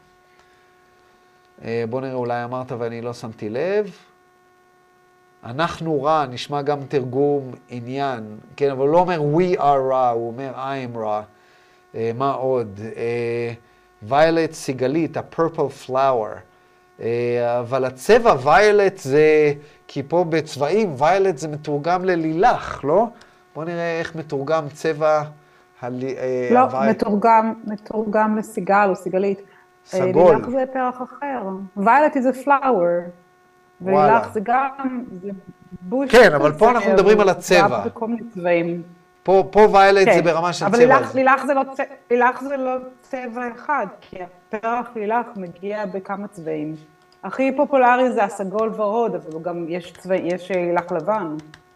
בוא נראה, אולי אמרת ואני לא שמתי לב. אנחנו רע, נשמע גם תרגום עניין, כן, אבל הוא לא אומר we are רע, הוא אומר I am רע. Uh, מה עוד? ויולט uh, סיגלית, ה-purple flower. Uh, אבל הצבע ויולט זה, כי פה בצבעים ויולט זה מתורגם ללילך, לא? בואו נראה איך מתורגם צבע הל...
לא, הווי... מתורגם, מתורגם לסיגל או סיגלית.
סגול.
לילך זה פרח אחר. ויולט זה flower. ולילך זה גם, זה בוש.
כן, אבל פה אנחנו מדברים על הצבע.
בכל מיני צבעים.
פה, פה ויולט כן. זה ברמה של
אבל
צבע.
אבל לילך זה, לא, לילך זה לא צבע אחד, כי הפרח לילך מגיע בכמה צבעים. הכי פופולרי זה הסגול ורוד, אבל גם יש, צבע, יש לילך לבן.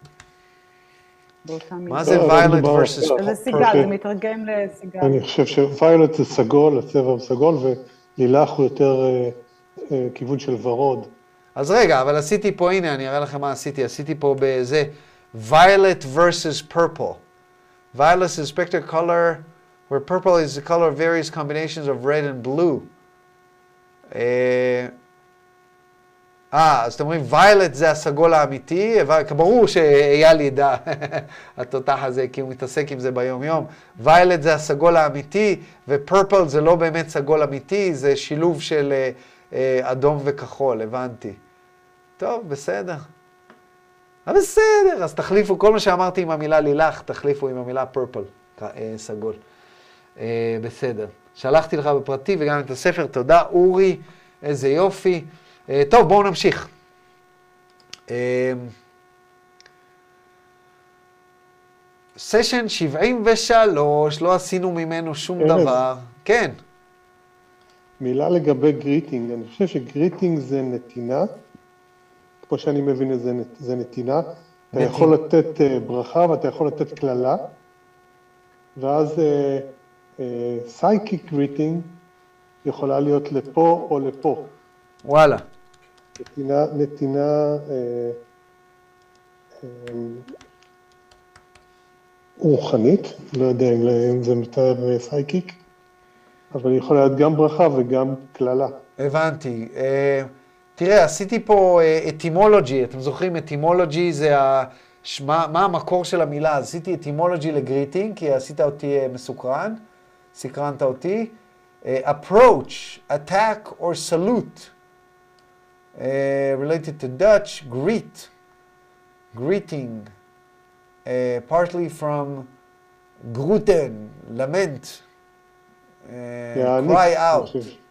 מה זה ויולט versus purple?
זה סיגל, זה מתרגם לסיגל.
אני חושב שוויולט זה סגול, הצבע הוא סגול, ולילך הוא יותר כיוון של ורוד.
אז רגע, אבל עשיתי פה, הנה, אני אראה לכם מה עשיתי. עשיתי פה בזה, violet versus purple. Violet is a spectral color, where purple is the color of various combinations of red and blue. אה, אז אתם אומרים, violet זה הסגול האמיתי, ברור שאייל ידע, התותח הזה, כי הוא מתעסק עם זה ביום יום. violet זה הסגול האמיתי, ופurple זה לא באמת סגול אמיתי, זה שילוב של אדום וכחול, הבנתי. טוב, בסדר. אבל בסדר, אז תחליפו, כל מה שאמרתי עם המילה לילך, תחליפו עם המילה purple, סגול. בסדר. שלחתי לך בפרטי וגם את הספר, תודה אורי, איזה יופי. טוב, בואו נמשיך. סשן שבעים ושלוש, לא עשינו ממנו שום דבר. כן.
מילה לגבי גריטינג, אני חושב שגריטינג זה נתינה, כמו שאני מבין את זה, זה נתינה. אתה יכול לתת ברכה ואתה יכול לתת כללה, ואז psychic greeting יכולה להיות לפה או לפה.
וואלה.
נתינה, נתינה, רוחנית, לא יודע אם זה מתאר סייקיק, אבל יכול להיות גם ברכה וגם כללה.
הבנתי. תראה, עשיתי פה אטימולוגי, אתם זוכרים, אטימולוגי זה ה... מה, מה המקור של המילה? אז עשיתי אטימולוגי לגריטינג, כי עשית אותי מסוקרן, סקרנת אותי. Uh, approach, attack, or salute. Uh, related to Dutch, greet, greeting, uh, partly from groeten, lament, uh, cry out.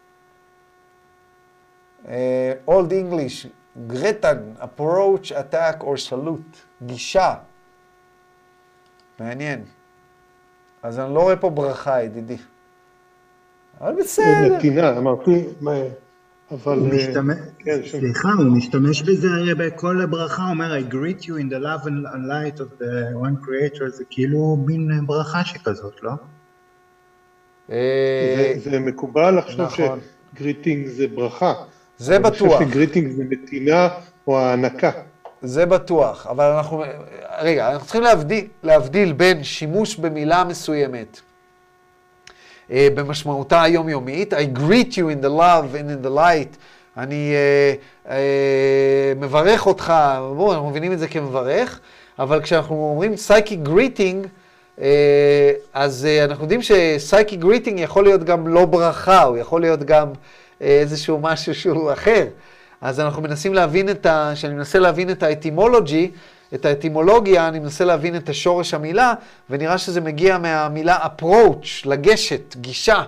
Uh, Old English, gretan, approach, attack, or salute. גישה. מעניין. אז אני לא רואה פה ברכה, ידידי. אבל בסדר.
נתינה, אמרתי, אבל...
סליחה, הוא משתמש בזה בכל ברכה, הוא אומר, I greet you in the love and light of the one creator, זה כאילו מין ברכה שכזאת, לא?
זה מקובל לחשוב שגריטינג זה ברכה.
זה בטוח.
אני חושב שגריטינג זה נתינה או הענקה.
זה בטוח, אבל אנחנו... רגע, אנחנו צריכים להבדיל, להבדיל בין שימוש במילה מסוימת, במשמעותה היומיומית, I greet you in the love and in the light, אני uh, uh, מברך אותך, בואו, אנחנו מבינים את זה כמברך, אבל כשאנחנו אומרים psychic greeting, uh, אז uh, אנחנו יודעים ש-psychic greeting יכול להיות גם לא ברכה, הוא יכול להיות גם uh, איזשהו משהו שהוא אחר. אז אנחנו מנסים להבין את ה... שאני מנסה להבין את האטימולוגי, את האטימולוגיה, אני מנסה להבין את השורש המילה, ונראה שזה מגיע מהמילה approach, לגשת, גישה.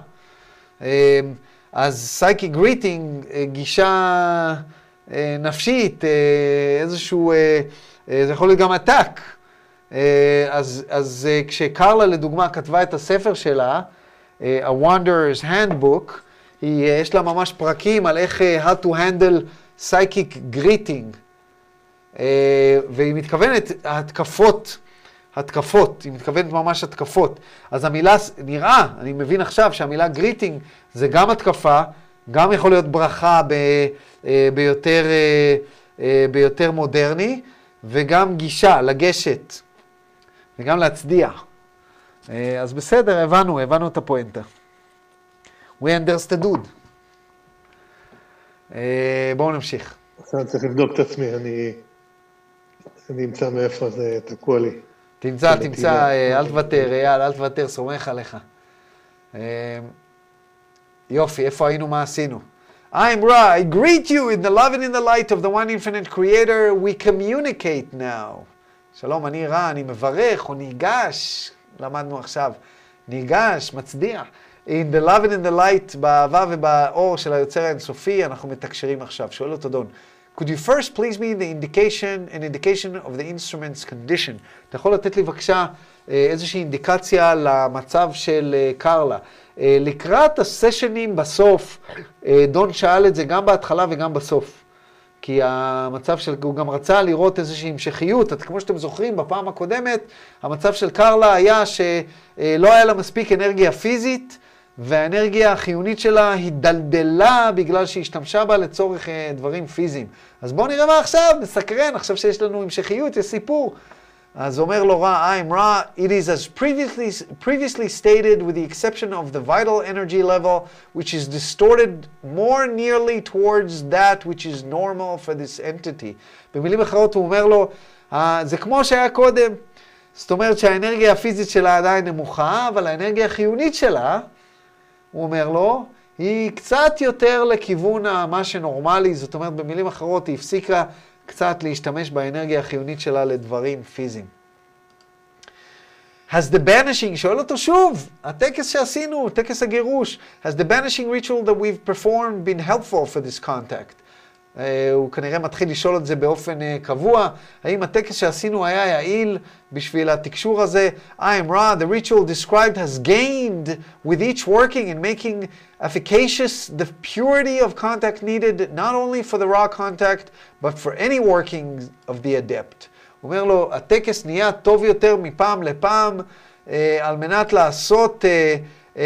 אז psychic greeting, גישה נפשית, איזשהו, זה יכול להיות גם attack. אז, אז כשקרלה לדוגמה כתבה את הספר שלה, A Wanderer's Handbook, היא, יש לה ממש פרקים על איך how to handle psychic greeting. Uh, והיא מתכוונת התקפות, התקפות, היא מתכוונת ממש התקפות. אז המילה, נראה, אני מבין עכשיו שהמילה greeting זה גם התקפה, גם יכול להיות ברכה ב, uh, ביותר, uh, uh, ביותר מודרני, וגם גישה, לגשת, וגם להצדיע. Uh, אז בסדר, הבנו, הבנו את הפואנטה. We understood. Uh, בואו נמשיך.
אני צריך לבדוק את עצמי, אני... אני אמצא מאיפה זה תקוע לי.
תמצא, תמצא, אל תוותר, אייל, אל תוותר, סומך עליך. יופי, איפה היינו, מה עשינו? I'm Ra, I greet you in the love and in the light of the one infinite creator, we communicate now. שלום, אני רע, אני מברך, או ניגש, למדנו עכשיו, ניגש, מצדיע. In the love and in the light, באהבה ובאור של היוצר האינסופי, אנחנו מתקשרים עכשיו. שואל אותו דון. Could you first please me the indication, an indication of the instrument's condition? אתה יכול לתת לי בבקשה איזושהי אינדיקציה למצב של קרלה. לקראת הסשנים בסוף, דון שאל את זה גם בהתחלה וגם בסוף. כי המצב של, הוא גם רצה לראות איזושהי המשכיות. כמו שאתם זוכרים, בפעם הקודמת, המצב של קרלה היה שלא היה לה מספיק אנרגיה פיזית, והאנרגיה החיונית שלה הידלדלה בגלל שהיא השתמשה בה לצורך דברים פיזיים. אז בואו נראה מה עכשיו, נסקרן, עכשיו שיש לנו המשכיות, יש סיפור. אז אומר לו רע, I'm Ra, it is as previously, previously stated with the exception of the vital energy level, which is distorted more nearly towards that which is normal for this entity. במילים אחרות הוא אומר לו, זה כמו שהיה קודם. זאת אומרת שהאנרגיה הפיזית שלה עדיין נמוכה, אבל האנרגיה החיונית שלה, הוא אומר לו, היא קצת יותר לכיוון מה שנורמלי, זאת אומרת במילים אחרות היא הפסיקה קצת להשתמש באנרגיה החיונית שלה לדברים פיזיים. Has the banishing, שואל אותו שוב, הטקס שעשינו, טקס הגירוש, has the banishing ritual that we've performed been helpful for this contact? Uh, הוא כנראה מתחיל לשאול את זה באופן uh, קבוע, האם הטקס שעשינו היה יעיל בשביל התקשור הזה? I am Ra, the ritual described has gained with each working and making efficacious the purity of contact needed not only for the Ra contact but for any working of the adept. הוא אומר לו, הטקס נהיה טוב יותר מפעם לפעם uh, על מנת לעשות... Uh, uh,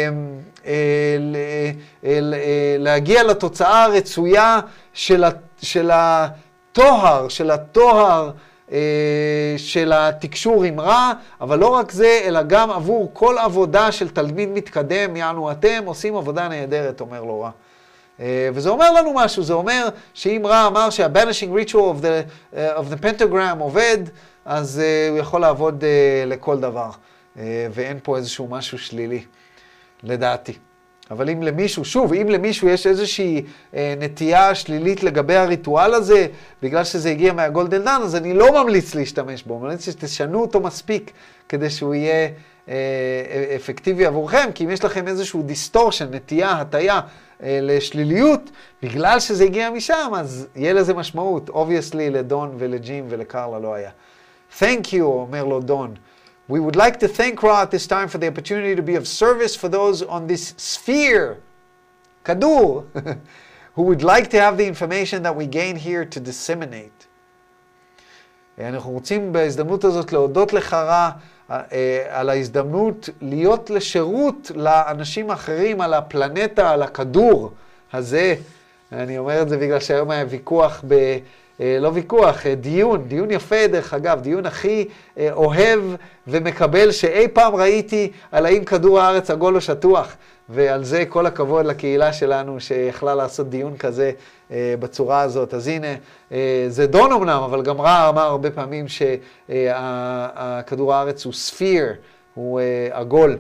להגיע לתוצאה הרצויה של התואר, של התואר של התקשור עם רע, אבל לא רק זה, אלא גם עבור כל עבודה של תלמיד מתקדם, יענו אתם עושים עבודה נהדרת, אומר לו רע. וזה אומר לנו משהו, זה אומר שאם רע אמר שה-banishing ritual of the, uh, of the pentagram עובד, אז uh, הוא יכול לעבוד uh, לכל דבר, uh, ואין פה איזשהו משהו שלילי, לדעתי. אבל אם למישהו, שוב, אם למישהו יש איזושהי אה, נטייה שלילית לגבי הריטואל הזה, בגלל שזה הגיע מהגולדן דן, אז אני לא ממליץ להשתמש בו, ממליץ שתשנו אותו מספיק כדי שהוא יהיה אה, אפקטיבי עבורכם, כי אם יש לכם איזשהו דיסטורשן, נטייה, הטיה אה, לשליליות, בגלל שזה הגיע משם, אז יהיה לזה משמעות. Obviously לדון ולג'ים ולקרלה לא היה. Thank you, אומר לו דון. We would like to thank Ra at this time for the opportunity to be of service for those on this sphere, Kadur, who would like to have the information that we gain here to disseminate. אנחנו רוצים בהזדמנות הזאת להודות לך רע על ההזדמנות להיות לשירות לאנשים אחרים על הפלנטה, על הכדור הזה. אני אומר את זה בגלל שהיום היה ויכוח ב... לא ויכוח, דיון, דיון יפה דרך אגב, דיון הכי אוהב ומקבל שאי פעם ראיתי על האם כדור הארץ עגול או שטוח, ועל זה כל הכבוד לקהילה שלנו שיכלה לעשות דיון כזה בצורה הזאת. אז הנה, זה דון אמנם, אבל גם רע אמר הרבה פעמים שכדור הארץ הוא ספיר, הוא עגול.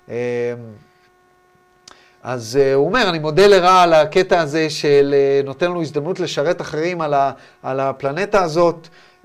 אז uh, הוא אומר, אני מודה לרע על הקטע הזה של uh, נותן לנו הזדמנות לשרת אחרים על, ה, על הפלנטה הזאת, uh,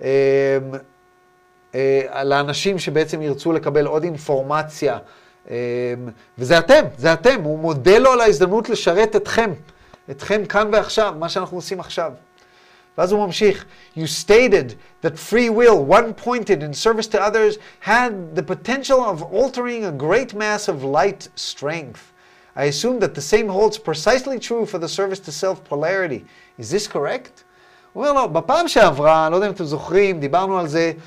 uh, על האנשים שבעצם ירצו לקבל עוד אינפורמציה, uh, וזה אתם, זה אתם, הוא מודה לו על ההזדמנות לשרת אתכם, אתכם כאן ועכשיו, מה שאנחנו עושים עכשיו. ואז הוא ממשיך, You stated that free will, one-pointed in service to others, had the potential of altering a great mass of light strength. I assume that the same holds precisely true for the service to self-polarity. Is this correct? הוא אומר לו, בפעם שעברה, לא יודע אם אתם זוכרים, דיברנו על זה,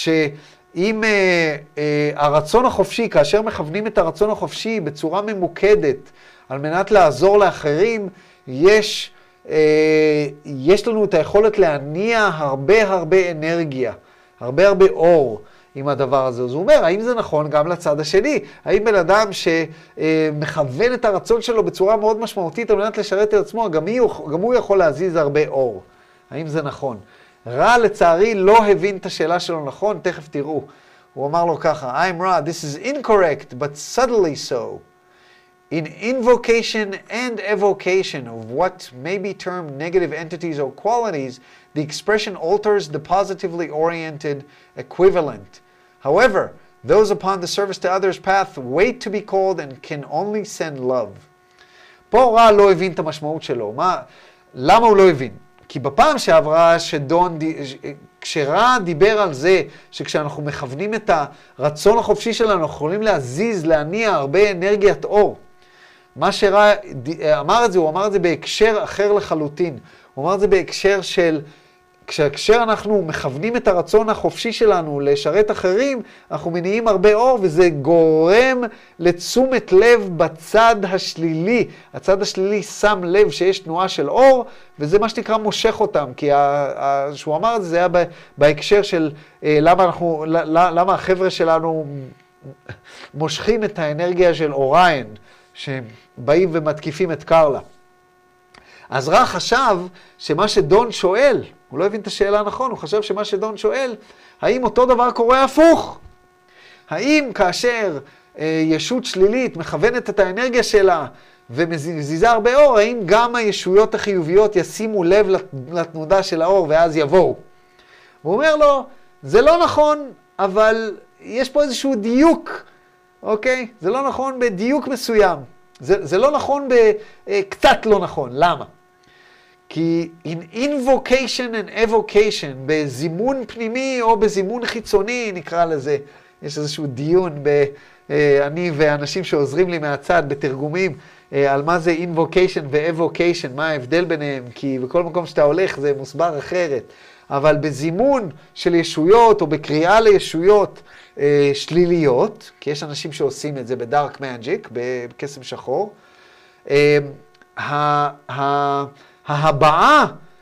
שאם אה, אה, הרצון החופשי, כאשר מכוונים את הרצון החופשי בצורה ממוקדת, על מנת לעזור לאחרים, יש, אה, יש לנו את היכולת להניע הרבה הרבה אנרגיה, הרבה הרבה אור. עם הדבר הזה. אז הוא אומר, האם זה נכון גם לצד השני? האם בן אדם שמכוון את הרצון שלו בצורה מאוד משמעותית על מנת לשרת את עצמו, גם הוא, גם הוא יכול להזיז הרבה אור? האם זה נכון? רע לצערי לא הבין את השאלה שלו נכון, תכף תראו. הוא אמר לו ככה, I'm Ra, this is incorrect, but subtly so. In invocation and evocation of what may be termed negative entities or qualities, the expression alters the positively oriented equivalent. However, those upon the service to others path wait to be called and can only send love. פה רע לא הבין את המשמעות שלו. מה, למה הוא לא הבין? כי בפעם שעברה שדון, כשרע דיבר על זה שכשאנחנו מכוונים את הרצון החופשי שלנו, אנחנו יכולים להזיז, להניע הרבה אנרגיית אור. מה שרע אמר את זה, הוא אמר את זה בהקשר אחר לחלוטין. הוא אמר את זה בהקשר של, כשהקשר אנחנו מכוונים את הרצון החופשי שלנו לשרת אחרים, אנחנו מניעים הרבה אור, וזה גורם לתשומת לב בצד השלילי. הצד השלילי שם לב שיש תנועה של אור, וזה מה שנקרא מושך אותם. כי שהוא אמר את זה, זה היה בהקשר של למה, אנחנו, למה החבר'ה שלנו מושכים את האנרגיה של אוריין, שבאים ומתקיפים את קרלה. אז רע חשב שמה שדון שואל, הוא לא הבין את השאלה נכון, הוא חשב שמה שדון שואל, האם אותו דבר קורה הפוך? האם כאשר אה, ישות שלילית מכוונת את האנרגיה שלה ומזיזה הרבה אור, האם גם הישויות החיוביות ישימו לב לתנודה של האור ואז יבואו? הוא אומר לו, זה לא נכון, אבל יש פה איזשהו דיוק, אוקיי? זה לא נכון בדיוק מסוים. זה, זה לא נכון בקצת לא נכון. למה? כי in invocation and evocation, בזימון פנימי או בזימון חיצוני, נקרא לזה, יש איזשהו דיון ב, אני ואנשים שעוזרים לי מהצד בתרגומים, על מה זה invocation ו-evocation, מה ההבדל ביניהם, כי בכל מקום שאתה הולך זה מוסבר אחרת. אבל בזימון של ישויות או בקריאה לישויות אה, שליליות, כי יש אנשים שעושים את זה בדארק מג'יק, בקסם שחור, אה, ה, ה, ההבעה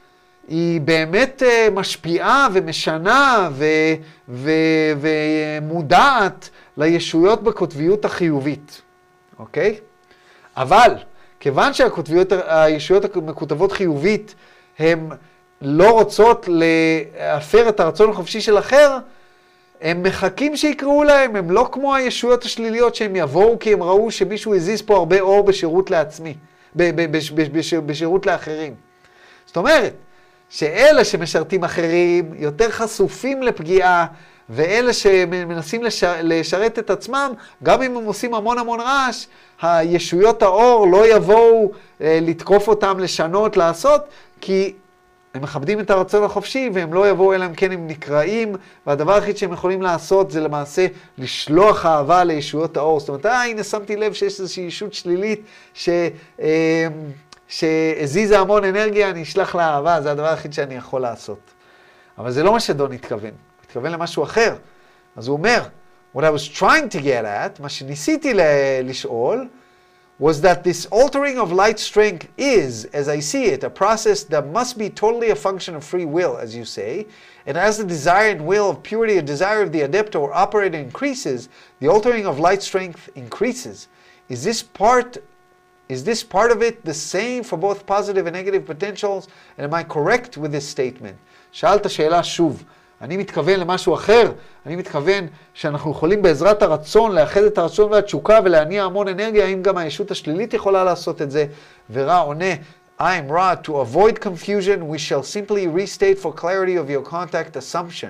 היא באמת משפיעה ומשנה ו, ו, ומודעת לישויות בקוטביות החיובית, אוקיי? אבל כיוון שהישויות המקוטבות חיובית הן לא רוצות להפר את הרצון החופשי של אחר, הם מחכים שיקראו להם, הם לא כמו הישויות השליליות שהם יבואו כי הם ראו שמישהו הזיז פה הרבה אור בשירות לעצמי, בשירות לאחרים. זאת אומרת, שאלה שמשרתים אחרים יותר חשופים לפגיעה, ואלה שמנסים לשר, לשרת את עצמם, גם אם הם עושים המון המון רעש, הישויות האור לא יבואו אה, לתקוף אותם, לשנות, לעשות, כי הם מכבדים את הרצון החופשי, והם לא יבואו אלא אם כן הם נקראים, והדבר היחיד שהם יכולים לעשות זה למעשה לשלוח אהבה לישויות האור. זאת אומרת, אה, הנה שמתי לב שיש איזושהי ישות שלילית ש... אה, שהזיזה המון אנרגיה, אני אשלח לה אהבה, זה הדבר היחיד שאני יכול לעשות. אבל זה לא מה שדון התכוון, הוא התכוון למשהו אחר. אז הוא אומר, what I was trying to get at, מה שניסיתי לשאול, was that this altering of light strength is, as I see it, a process that must be totally a function of free will, as you say, and as the desire and will of purity, a desire of the adept or operator increases, the altering of light strength increases. Is this part Is this part of it the same for both positive and negative potentials? And am I correct with this statement? שאלת שאלה שוב. אני מתכוון למשהו אחר. אני מתכוון שאנחנו יכולים בעזרת הרצון לאחד את הרצון והתשוקה ולהניע המון אנרגיה. האם גם הישות השלילית יכולה לעשות את זה? ורע עונה, I'm Ra, to avoid confusion, we shall simply restate for clarity of your contact assumption.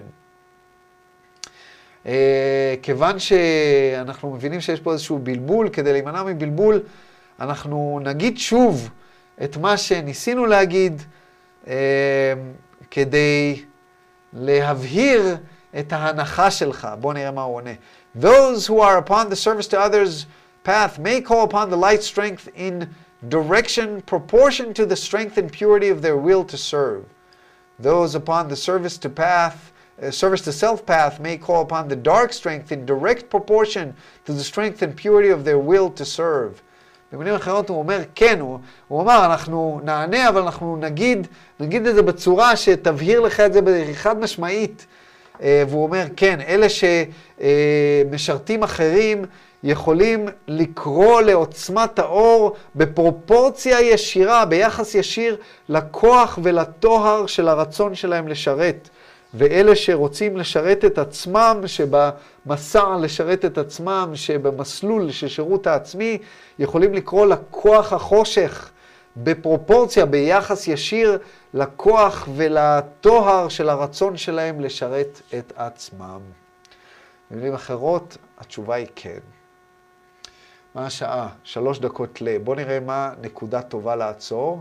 Uh, כיוון שאנחנו מבינים שיש פה איזשהו בלבול, כדי להימנע מבלבול, אנחנו נגיד שוב את מה שניסינו להגיד אה, כדי להבהיר את ההנחה שלך. בוא נראה מה הוא עונה. Those who are upon the service to others path may call upon the light strength in direction proportion to the strength and purity of their will to serve. Those upon the service to path uh, service to self path may call upon the dark strength in direct proportion to the strength and purity of their will to serve. במילים אחרות הוא אומר, כן, הוא, הוא אומר, אנחנו נענה, אבל אנחנו נגיד, נגיד את זה בצורה שתבהיר לך את זה חד משמעית. והוא אומר, כן, אלה שמשרתים אחרים יכולים לקרוא לעוצמת האור בפרופורציה ישירה, ביחס ישיר לכוח ולטוהר של הרצון שלהם לשרת. ואלה שרוצים לשרת את עצמם, שבמסע לשרת את עצמם, שבמסלול של שירות העצמי, יכולים לקרוא לכוח החושך בפרופורציה, ביחס ישיר לכוח ולטוהר של הרצון שלהם לשרת את עצמם. במילים אחרות, התשובה היא כן. מה השעה? שלוש דקות ל... בואו נראה מה נקודה טובה לעצור.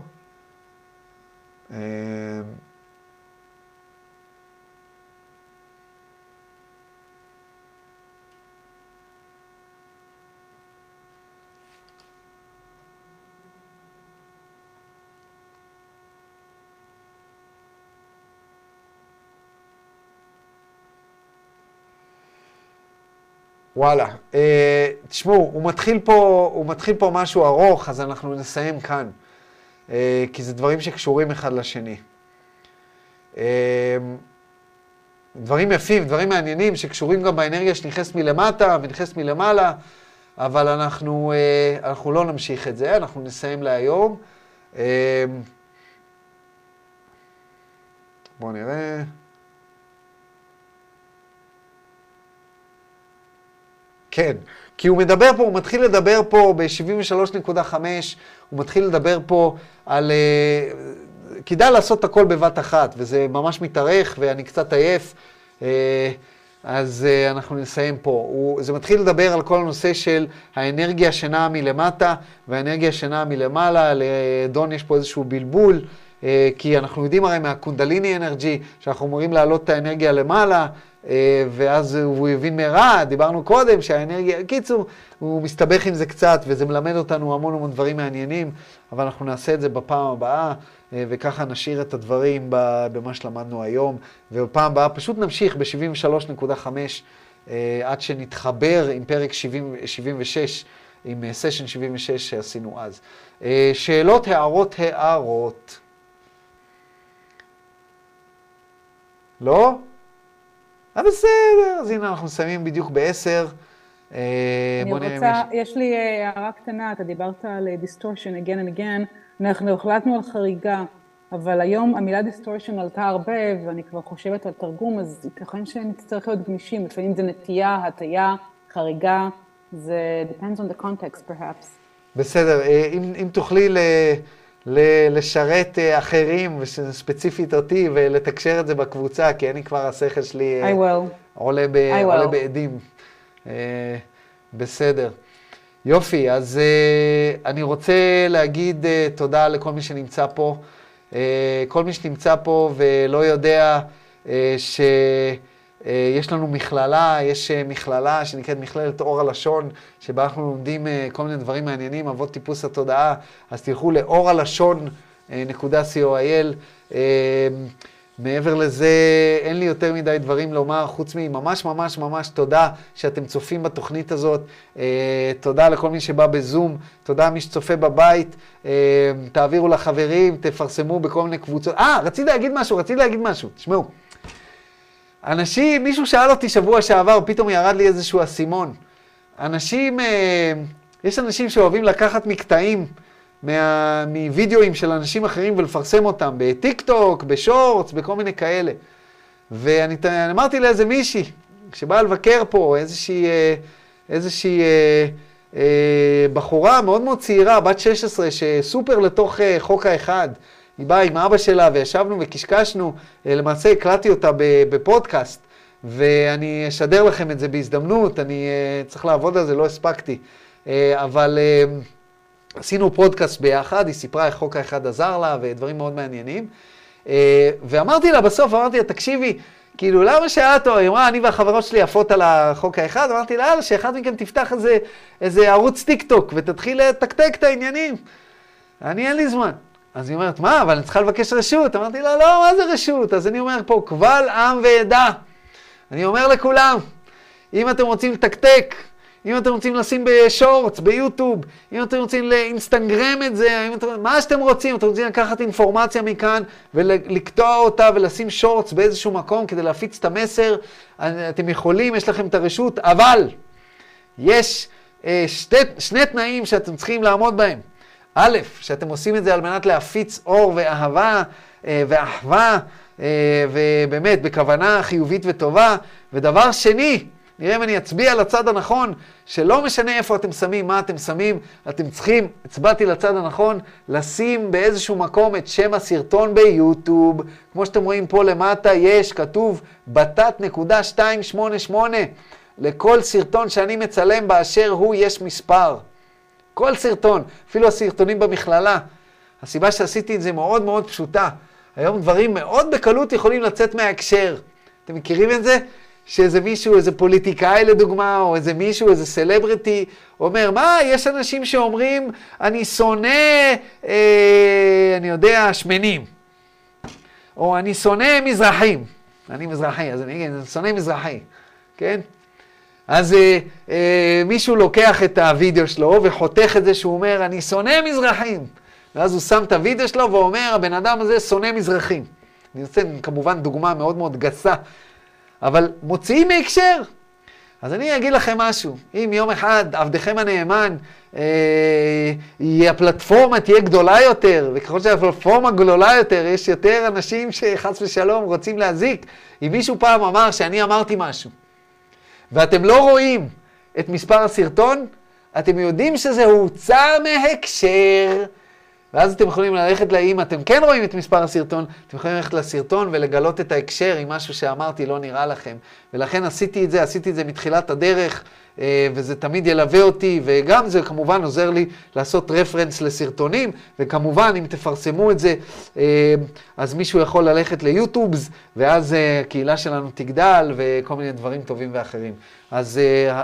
וואלה, אה, תשמעו, הוא מתחיל פה, הוא מתחיל פה משהו ארוך, אז אנחנו נסיים כאן, אה, כי זה דברים שקשורים אחד לשני. אה, דברים יפים, דברים מעניינים, שקשורים גם באנרגיה שנכנסת מלמטה ונכנסת מלמעלה, אבל אנחנו, אה, אנחנו לא נמשיך את זה, אנחנו נסיים להיום. אה, בואו נראה. כן, כי הוא מדבר פה, הוא מתחיל לדבר פה ב-שבעים ושלוש נקודה חמש, הוא מתחיל לדבר פה על... Uh, כדאי לעשות את הכל בבת אחת, וזה ממש מתארך, ואני קצת עייף, uh, אז uh, אנחנו נסיים פה. הוא, זה מתחיל לדבר על כל הנושא של האנרגיה שנעה מלמטה, והאנרגיה שנעה מלמעלה, לדון יש פה איזשהו בלבול, uh, כי אנחנו יודעים הרי מהקונדליני אנרגי, שאנחנו אמורים להעלות את האנרגיה למעלה, ואז הוא הבין מהרע, דיברנו קודם שהאנרגיה, קיצור, הוא מסתבך עם זה קצת, וזה מלמד אותנו המון המון דברים מעניינים, אבל אנחנו נעשה את זה בפעם הבאה, וככה נשאיר את הדברים במה שלמדנו היום, ובפעם הבאה פשוט נמשיך ב-שבעים ושלוש נקודה חמש, עד שנתחבר עם פרק שבעים ושש, עם סשן שבעים ושש שעשינו אז. שאלות, הערות, הערות. לא? אה, בסדר, אז הנה אנחנו מסיימים בדיוק בעשר.
אני רוצה, יש לי הערה קטנה, אתה דיברת על distortion again and again, אנחנו החלטנו על חריגה, אבל היום המילה distortion עלתה הרבה, ואני כבר חושבת על תרגום, אז ייתכן שנצטרך להיות גמישים, לפעמים זה נטייה, הטיה, חריגה, זה depends on the context perhaps.
בסדר, אם, אם תוכלי ל, ל, לשרת אחרים, וספציפית אותי, ולתקשר את זה בקבוצה, כי אני כבר השכל שלי
I will.
עולה, ב,
I
עולה
will.
בעדים. בסדר. יופי, אז אני רוצה להגיד תודה לכל מי שנמצא פה. כל מי שנמצא פה ולא יודע שיש לנו מכללה, יש מכללה שנקראת מכללת אור הלשון, שבה אנחנו לומדים כל מיני דברים מעניינים, אבות טיפוס התודעה, אז תלכו לאור הלשון נקודה סי או איי אל. מעבר לזה, אין לי יותר מדי דברים לומר, חוץ מממש ממש ממש תודה שאתם צופים בתוכנית הזאת, תודה לכל מי שבא בזום, תודה מי שצופה בבית, תעבירו לחברים, תפרסמו בכל מיני קבוצות. אה, רציתי להגיד משהו, רציתי להגיד משהו, תשמעו. אנשים, מישהו שאל אותי שבוע שעבר, פתאום ירד לי איזשהו אסימון. אנשים, יש אנשים שאוהבים לקחת מקטעים, מה, מווידאוים של אנשים אחרים ולפרסם אותם בטיק טוק, בשורטס, בכל מיני כאלה. ואני אמרתי לאיזה מישהי, שבאה לבקר פה, איזושהי, איזושהי אה, אה, בחורה מאוד מאוד צעירה, בת שש עשרה, שסופר לתוך אה, חוק האחד. היא באה עם אבא שלה וישבנו וקשקשנו, אה, למעשה הקלטתי אותה בפודקאסט, ואני אשדר לכם את זה בהזדמנות, אני אה, צריך לעבוד על זה, לא הספקתי. אה, אבל... אה, עשינו פודקאסט ביחד, היא סיפרה איך חוק האחד עזר לה ודברים מאוד מעניינים. ואמרתי לה בסוף, אמרתי לה, תקשיבי, כאילו, למה שאת, היא אמרה, אני והחברות שלי עפות על החוק האחד, אמרתי לה, שאחד מכם תפתח איזה, איזה ערוץ טיק טוק ותתחיל לתקתק את העניינים. אני אין לי זמן. אז היא אומרת, מה, אבל אני צריכה לבקש רשות. אמרתי לה, לא, מה זה רשות? אז אני אומר פה, קבל עם ועדה. אני אומר לכולם, אם אתם רוצים לתקתק, אם אתם רוצים לשים בשורטס, ביוטיוב, אם אתם רוצים לאינסטגרם את זה, אם אתם, מה שאתם רוצים, אתם רוצים לקחת אינפורמציה מכאן ולקטוע אותה ולשים שורטס באיזשהו מקום כדי להפיץ את המסר, אתם יכולים, יש לכם את הרשות, אבל יש אה, שתי, שני תנאים שאתם צריכים לעמוד בהם. א', שאתם עושים את זה על מנת להפיץ אור ואהבה אה, ואחווה, אה, ובאמת בכוונה חיובית וטובה, ודבר שני, נראה אם אני אצביע לצד הנכון, שלא משנה איפה אתם שמים, מה אתם שמים, אתם צריכים, הצבעתי לצד הנכון, לשים באיזשהו מקום את שם הסרטון ביוטיוב. כמו שאתם רואים פה למטה, יש, כתוב, בתת נקודה שתיים שמונה שמונה. לכל סרטון שאני מצלם באשר הוא, יש מספר. כל סרטון, אפילו הסרטונים במכללה. הסיבה שעשיתי את זה מאוד מאוד פשוטה. היום דברים מאוד בקלות יכולים לצאת מההקשר. אתם מכירים את זה? שאיזה מישהו, איזה פוליטיקאי לדוגמה, או איזה מישהו, איזה סלבריטי, אומר, מה, יש אנשים שאומרים, אני שונא, אה, אני יודע, שמנים. או אני שונא מזרחים. אני מזרחי, אז אני אגיד, אני שונא מזרחי. כן? אז אה, אה, מישהו לוקח את הוידאו שלו וחותך את זה שהוא אומר, אני שונא מזרחים. ואז הוא שם את הוידאו שלו ואומר, הבן אדם הזה שונא מזרחים. אני רוצה כמובן דוגמה מאוד מאוד גסה, אבל מוציאים מהקשר. אז אני אגיד לכם משהו, אם יום אחד עבדכם הנאמן, אה, הפלטפורמה תהיה גדולה יותר, וככל שהפלטפורמה גדולה יותר, יש יותר אנשים שחס ושלום רוצים להזיק. אם מישהו פעם אמר שאני אמרתי משהו, ואתם לא רואים את מספר הסרטון, אתם יודעים שזה הוצא מהקשר, ואז אתם יכולים ללכת, אם אתם כן רואים את מספר הסרטון, אתם יכולים ללכת לסרטון ולגלות את ההקשר עם משהו שאמרתי לא נראה לכם. ולכן עשיתי את זה, עשיתי את זה מתחילת הדרך, וזה תמיד ילווה אותי, וגם זה כמובן עוזר לי לעשות רפרנס לסרטונים, וכמובן אם תפרסמו את זה, אז מישהו יכול ללכת ליוטיובס, ואז הקהילה שלנו תגדל, וכל מיני דברים טובים ואחרים. אז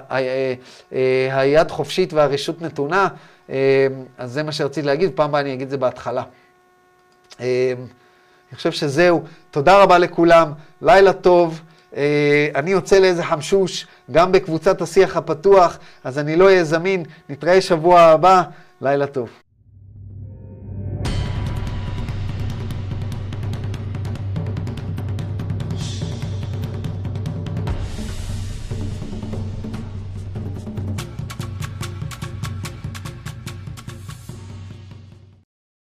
היד חופשית והרשות נתונה, אז זה מה שרציתי להגיד, פעם הבאה אני אגיד זה בהתחלה. אני חושב שזהו, תודה רבה לכולם, לילה טוב, אני יוצא לאיזה חמשוש, גם בקבוצת השיח הפתוח, אז אני לא אהיה זמין, נתראה שבוע הבא, לילה טוב.